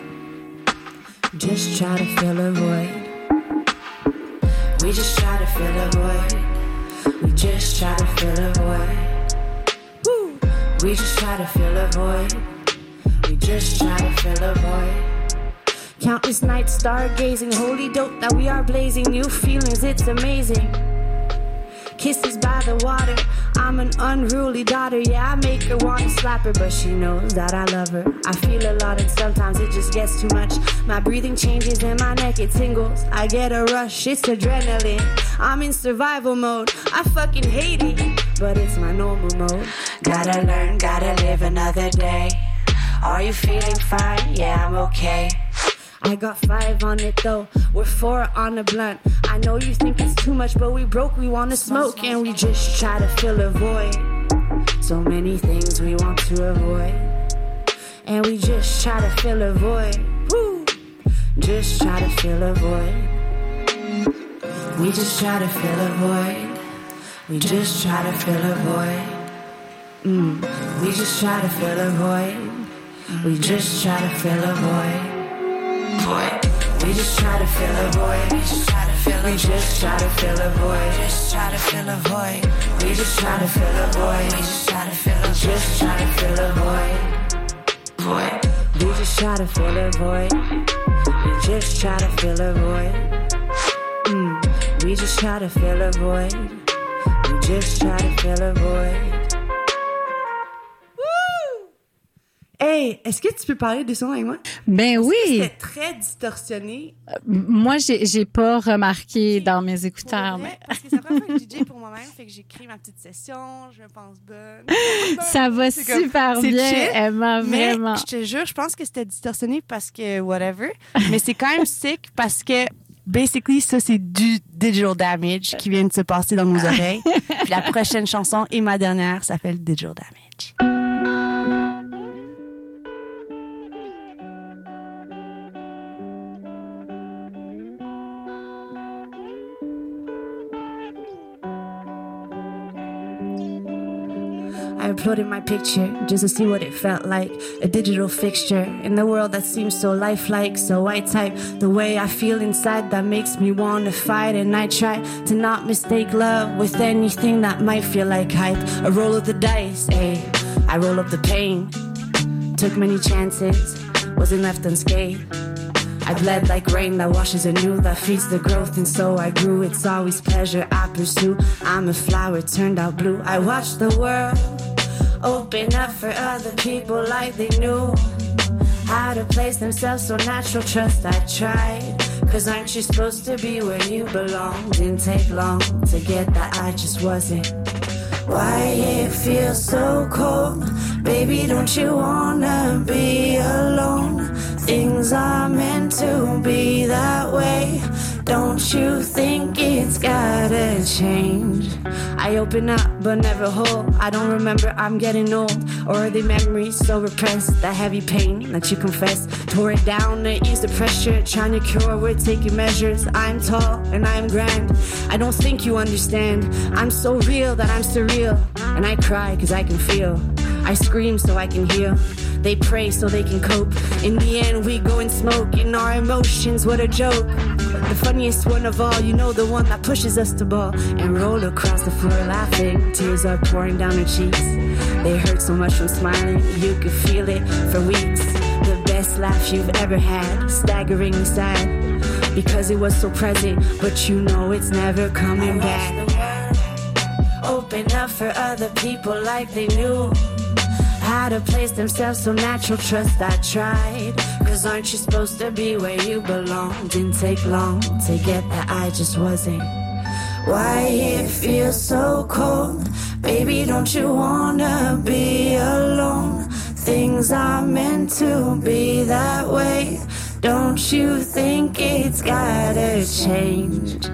Speaker 12: just try to fill a void. We just try to fill a void. We just try to fill a void. Woo. We just try to fill a void. We just try to fill a void. Countless nights stargazing, holy dope that we are blazing. New feelings, it's amazing. Kisses by the water, I'm an unruly daughter. Yeah, I make her wanna slap her, but she knows that I love her. I feel a lot and sometimes it just gets too much. My breathing changes and my neck it tingles. I get a rush, it's adrenaline. I'm in survival mode, I fucking hate it, but it's my normal mode. Gotta learn, gotta live another day. Are you feeling fine? Yeah, I'm okay. I got five on it though, we're four on a blunt. I know you think it's too much, but we broke, we wanna smoke. And we just try to fill a void. So many things we want to avoid. And we just try to fill a void. Woo! Just try to fill a void. We just try to fill a void. We just try to fill a void. Mm. We just try to fill a void. We just try to fill a void. Void. We just try to fill a void. We just try to fill a void. We just try to fill a void. Just try to fill a void. We just try to fill a void. We just try to fill a void. Just try to fill a void. Void. We just try to fill a void. We just try to fill a void. Mm. We just try to fill a void. We just try to fill a void. Hey, est-ce que tu peux parler de son avec moi?
Speaker 4: Ben oui.
Speaker 12: C'était très distorsionné.
Speaker 4: Euh, moi, j'ai, j'ai pas remarqué dans mes écouteurs.
Speaker 12: Vrai,
Speaker 4: mais...
Speaker 12: Parce que c'est la première fois que je D J pour moi-même, fait que j'ai créé ma petite session, je me pense bonne.
Speaker 4: Ça va
Speaker 12: c'est
Speaker 4: super
Speaker 12: comme,
Speaker 4: bien,
Speaker 12: chill,
Speaker 4: Emma,
Speaker 12: mais
Speaker 4: vraiment.
Speaker 12: Je te jure, je pense que c'était distorsionné parce que whatever. Mais c'est quand même sick parce que basically, ça, c'est du digital damage qui vient de se passer dans nos oreilles. Puis la prochaine chanson et ma dernière s'appelle Digital Damage. I uploaded my picture just to see what it felt like. A digital fixture in the world that seems so lifelike. So I type the way I feel inside that makes me want to fight. And I try to not mistake love with anything that might feel like hype. A roll of the dice, ayy. I roll up the pain. Took many chances, wasn't left unscathed. I bled like rain that washes anew, that feeds the growth, and so I grew. It's always pleasure I pursue. I'm a flower turned out blue. I watch the world open up for other people like they knew how to place themselves so natural. Trust I tried, cause aren't you supposed to be where you belong? Didn't take long to get that I just wasn't. Why it feels so cold? Baby, don't you wanna be alone? Things are meant to be that way. Don't you think it's gotta change? I open up but never whole. I don't remember I'm getting old. Or are they memories so repressed? That heavy pain that you confess. Tore it down to ease the pressure. Trying to cure, we're taking measures. I'm tall and I'm grand. I don't think you understand. I'm so real that I'm surreal. And I cry cause I can feel. I scream so I can heal. They pray so they can cope. In the end we go and smoke. In our emotions, what a joke. The funniest one of all, you know, the one that pushes us to ball and roll across the floor laughing. Tears are pouring down her cheeks. They hurt so much from smiling, you could feel it for weeks. the best laugh you've ever had, staggeringly sad, because it was so present, but you know it's never coming back. Open up for other people like they knew how to place themselves, so natural trust I tried. Cause aren't you supposed to be where you belong? Didn't take long to get that I just wasn't. Why it feels so cold? Baby, don't you wanna be alone? Things are meant to be that way. Don't you think it's gotta change?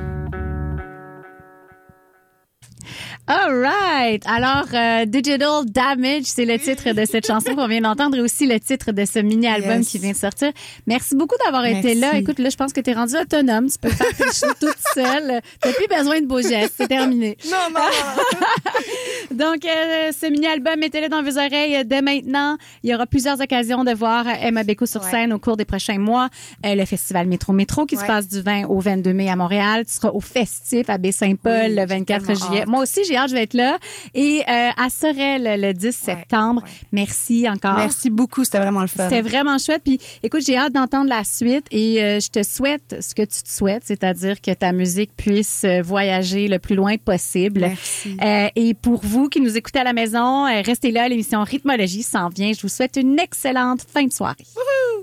Speaker 4: All right. Alors, euh, Digital Damage, c'est le titre de cette chanson qu'on vient d'entendre et aussi le titre de ce mini-album yes. qui vient de sortir. Merci beaucoup d'avoir Merci. été là. Écoute, là, je pense que tu es rendu autonome. Tu peux faire tes choses toute seule. Tu n'as plus besoin de beaux gestes. C'est terminé.
Speaker 7: Non, non, non.
Speaker 4: Donc, euh, ce mini-album, mettez-le dans vos oreilles dès maintenant. Il y aura plusieurs occasions de voir Emma Béco sur ouais. scène au cours des prochains mois. Euh, le festival Métro Métro qui ouais. se passe du vingt au vingt-deux mai à Montréal. Tu seras au Festif à Baie-Saint-Paul oui, le vingt-quatre juillet. Hâte. Moi aussi, j'ai hâte, je vais être là. Et euh, à Sorel le dix septembre. Ouais, ouais. Merci encore.
Speaker 7: Merci beaucoup, c'était vraiment le fun.
Speaker 4: C'était vraiment chouette. Puis écoute, j'ai hâte d'entendre la suite et euh, je te souhaite ce que tu te souhaites, c'est-à-dire que ta musique puisse voyager le plus loin possible.
Speaker 7: Merci.
Speaker 4: Euh, et pour vous qui nous écoutez à la maison, euh, restez là, l'émission Rythmologie s'en vient. Je vous souhaite une excellente fin de soirée.
Speaker 7: Wouhou!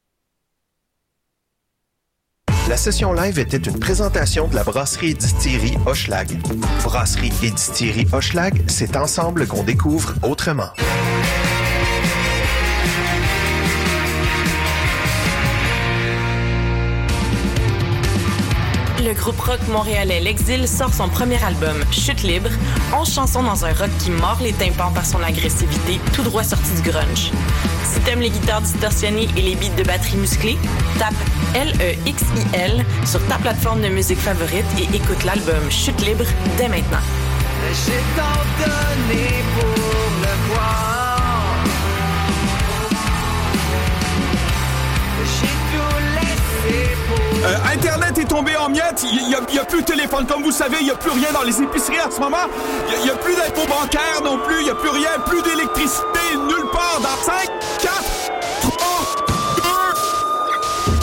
Speaker 3: La session live était une présentation de la brasserie et distillerie Hochelag. Brasserie et distillerie Hochelag, c'est ensemble qu'on découvre autrement.
Speaker 13: Le groupe rock montréalais L'Exil sort son premier album, Chute libre, onze chansons dans un rock qui mord les tympans par son agressivité, tout droit sorti du grunge. Si t'aimes les guitares distorsionnées et les beats de batterie musclés, tape L E X I L sur ta plateforme de musique favorite et écoute l'album Chute libre dès maintenant.
Speaker 14: J'ai tant donné pour le voir. J'ai tout laissé pour...
Speaker 15: Euh, Internet est tombé en miettes. Il n'y a, a plus de téléphone. Comme vous savez, il n'y a plus rien dans les épiceries en ce moment. Il n'y a, a plus d'impôts bancaires non plus. Il n'y a plus rien. Plus d'électricité nulle part. Dans cinq, quatre, trois, deux...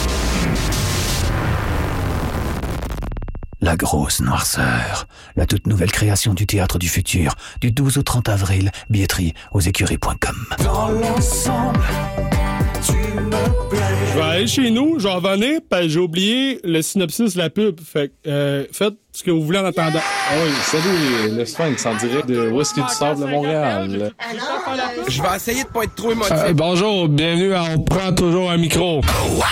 Speaker 16: La grosse noirceur. La toute nouvelle création du Théâtre du Futur. Du douze au trente avril. Billetterie aux écuries point com.
Speaker 14: Dans l'ensemble, tu me plais.
Speaker 1: Je vais aller chez nous, je vais revenir, parce que j'ai oublié le synopsis de la pub. Fait que, euh, faites ce que vous voulez en attendant.
Speaker 17: Ah oui, salut, le Sphinx en direct de Whisky du Sable de Montréal.
Speaker 15: Je vais essayer de pas être trop émotif.
Speaker 17: Euh, bonjour, bienvenue à On prend toujours un micro.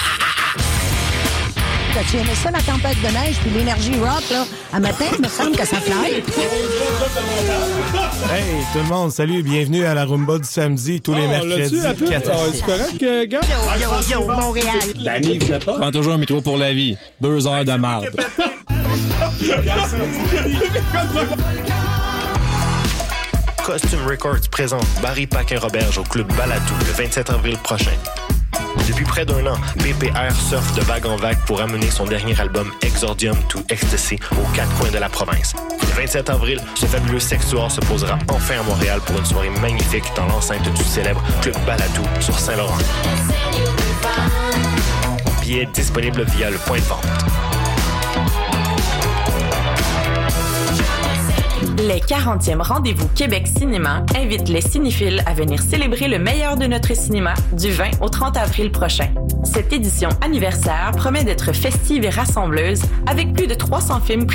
Speaker 18: T'as-tu aimé ça, la tempête de neige puis l'énergie rock, là? À matin, il me semble que ça fly.
Speaker 19: Hey, tout le monde, salut, bienvenue à la Rumba du samedi, tous oh, les mercredis.
Speaker 1: quatre heures. C'est correct, euh, gars?
Speaker 18: Yo, yo, yo, Montréal.
Speaker 1: L'année, vous êtes pas?
Speaker 17: Prends toujours un métro pour la vie. Deux heures de marde.
Speaker 3: Costume Records présente Barry Paquin-Roberge au Club Balatou le vingt-sept avril prochain. Depuis près d'un an, P P R surfe de vague en vague pour amener son dernier album Exordium to Ecstasy aux quatre coins de la province. Le vingt-sept avril, ce fabuleux sextuor se posera enfin à Montréal pour une soirée magnifique dans l'enceinte du célèbre Club Balatou sur Saint-Laurent. Billets disponibles via le point de vente.
Speaker 13: Les quarantièmes Rendez-vous Québec Cinéma invitent les cinéphiles à venir célébrer le meilleur de notre cinéma du vingt au trente avril prochain. Cette édition anniversaire promet d'être festive et rassembleuse avec plus de trois cents films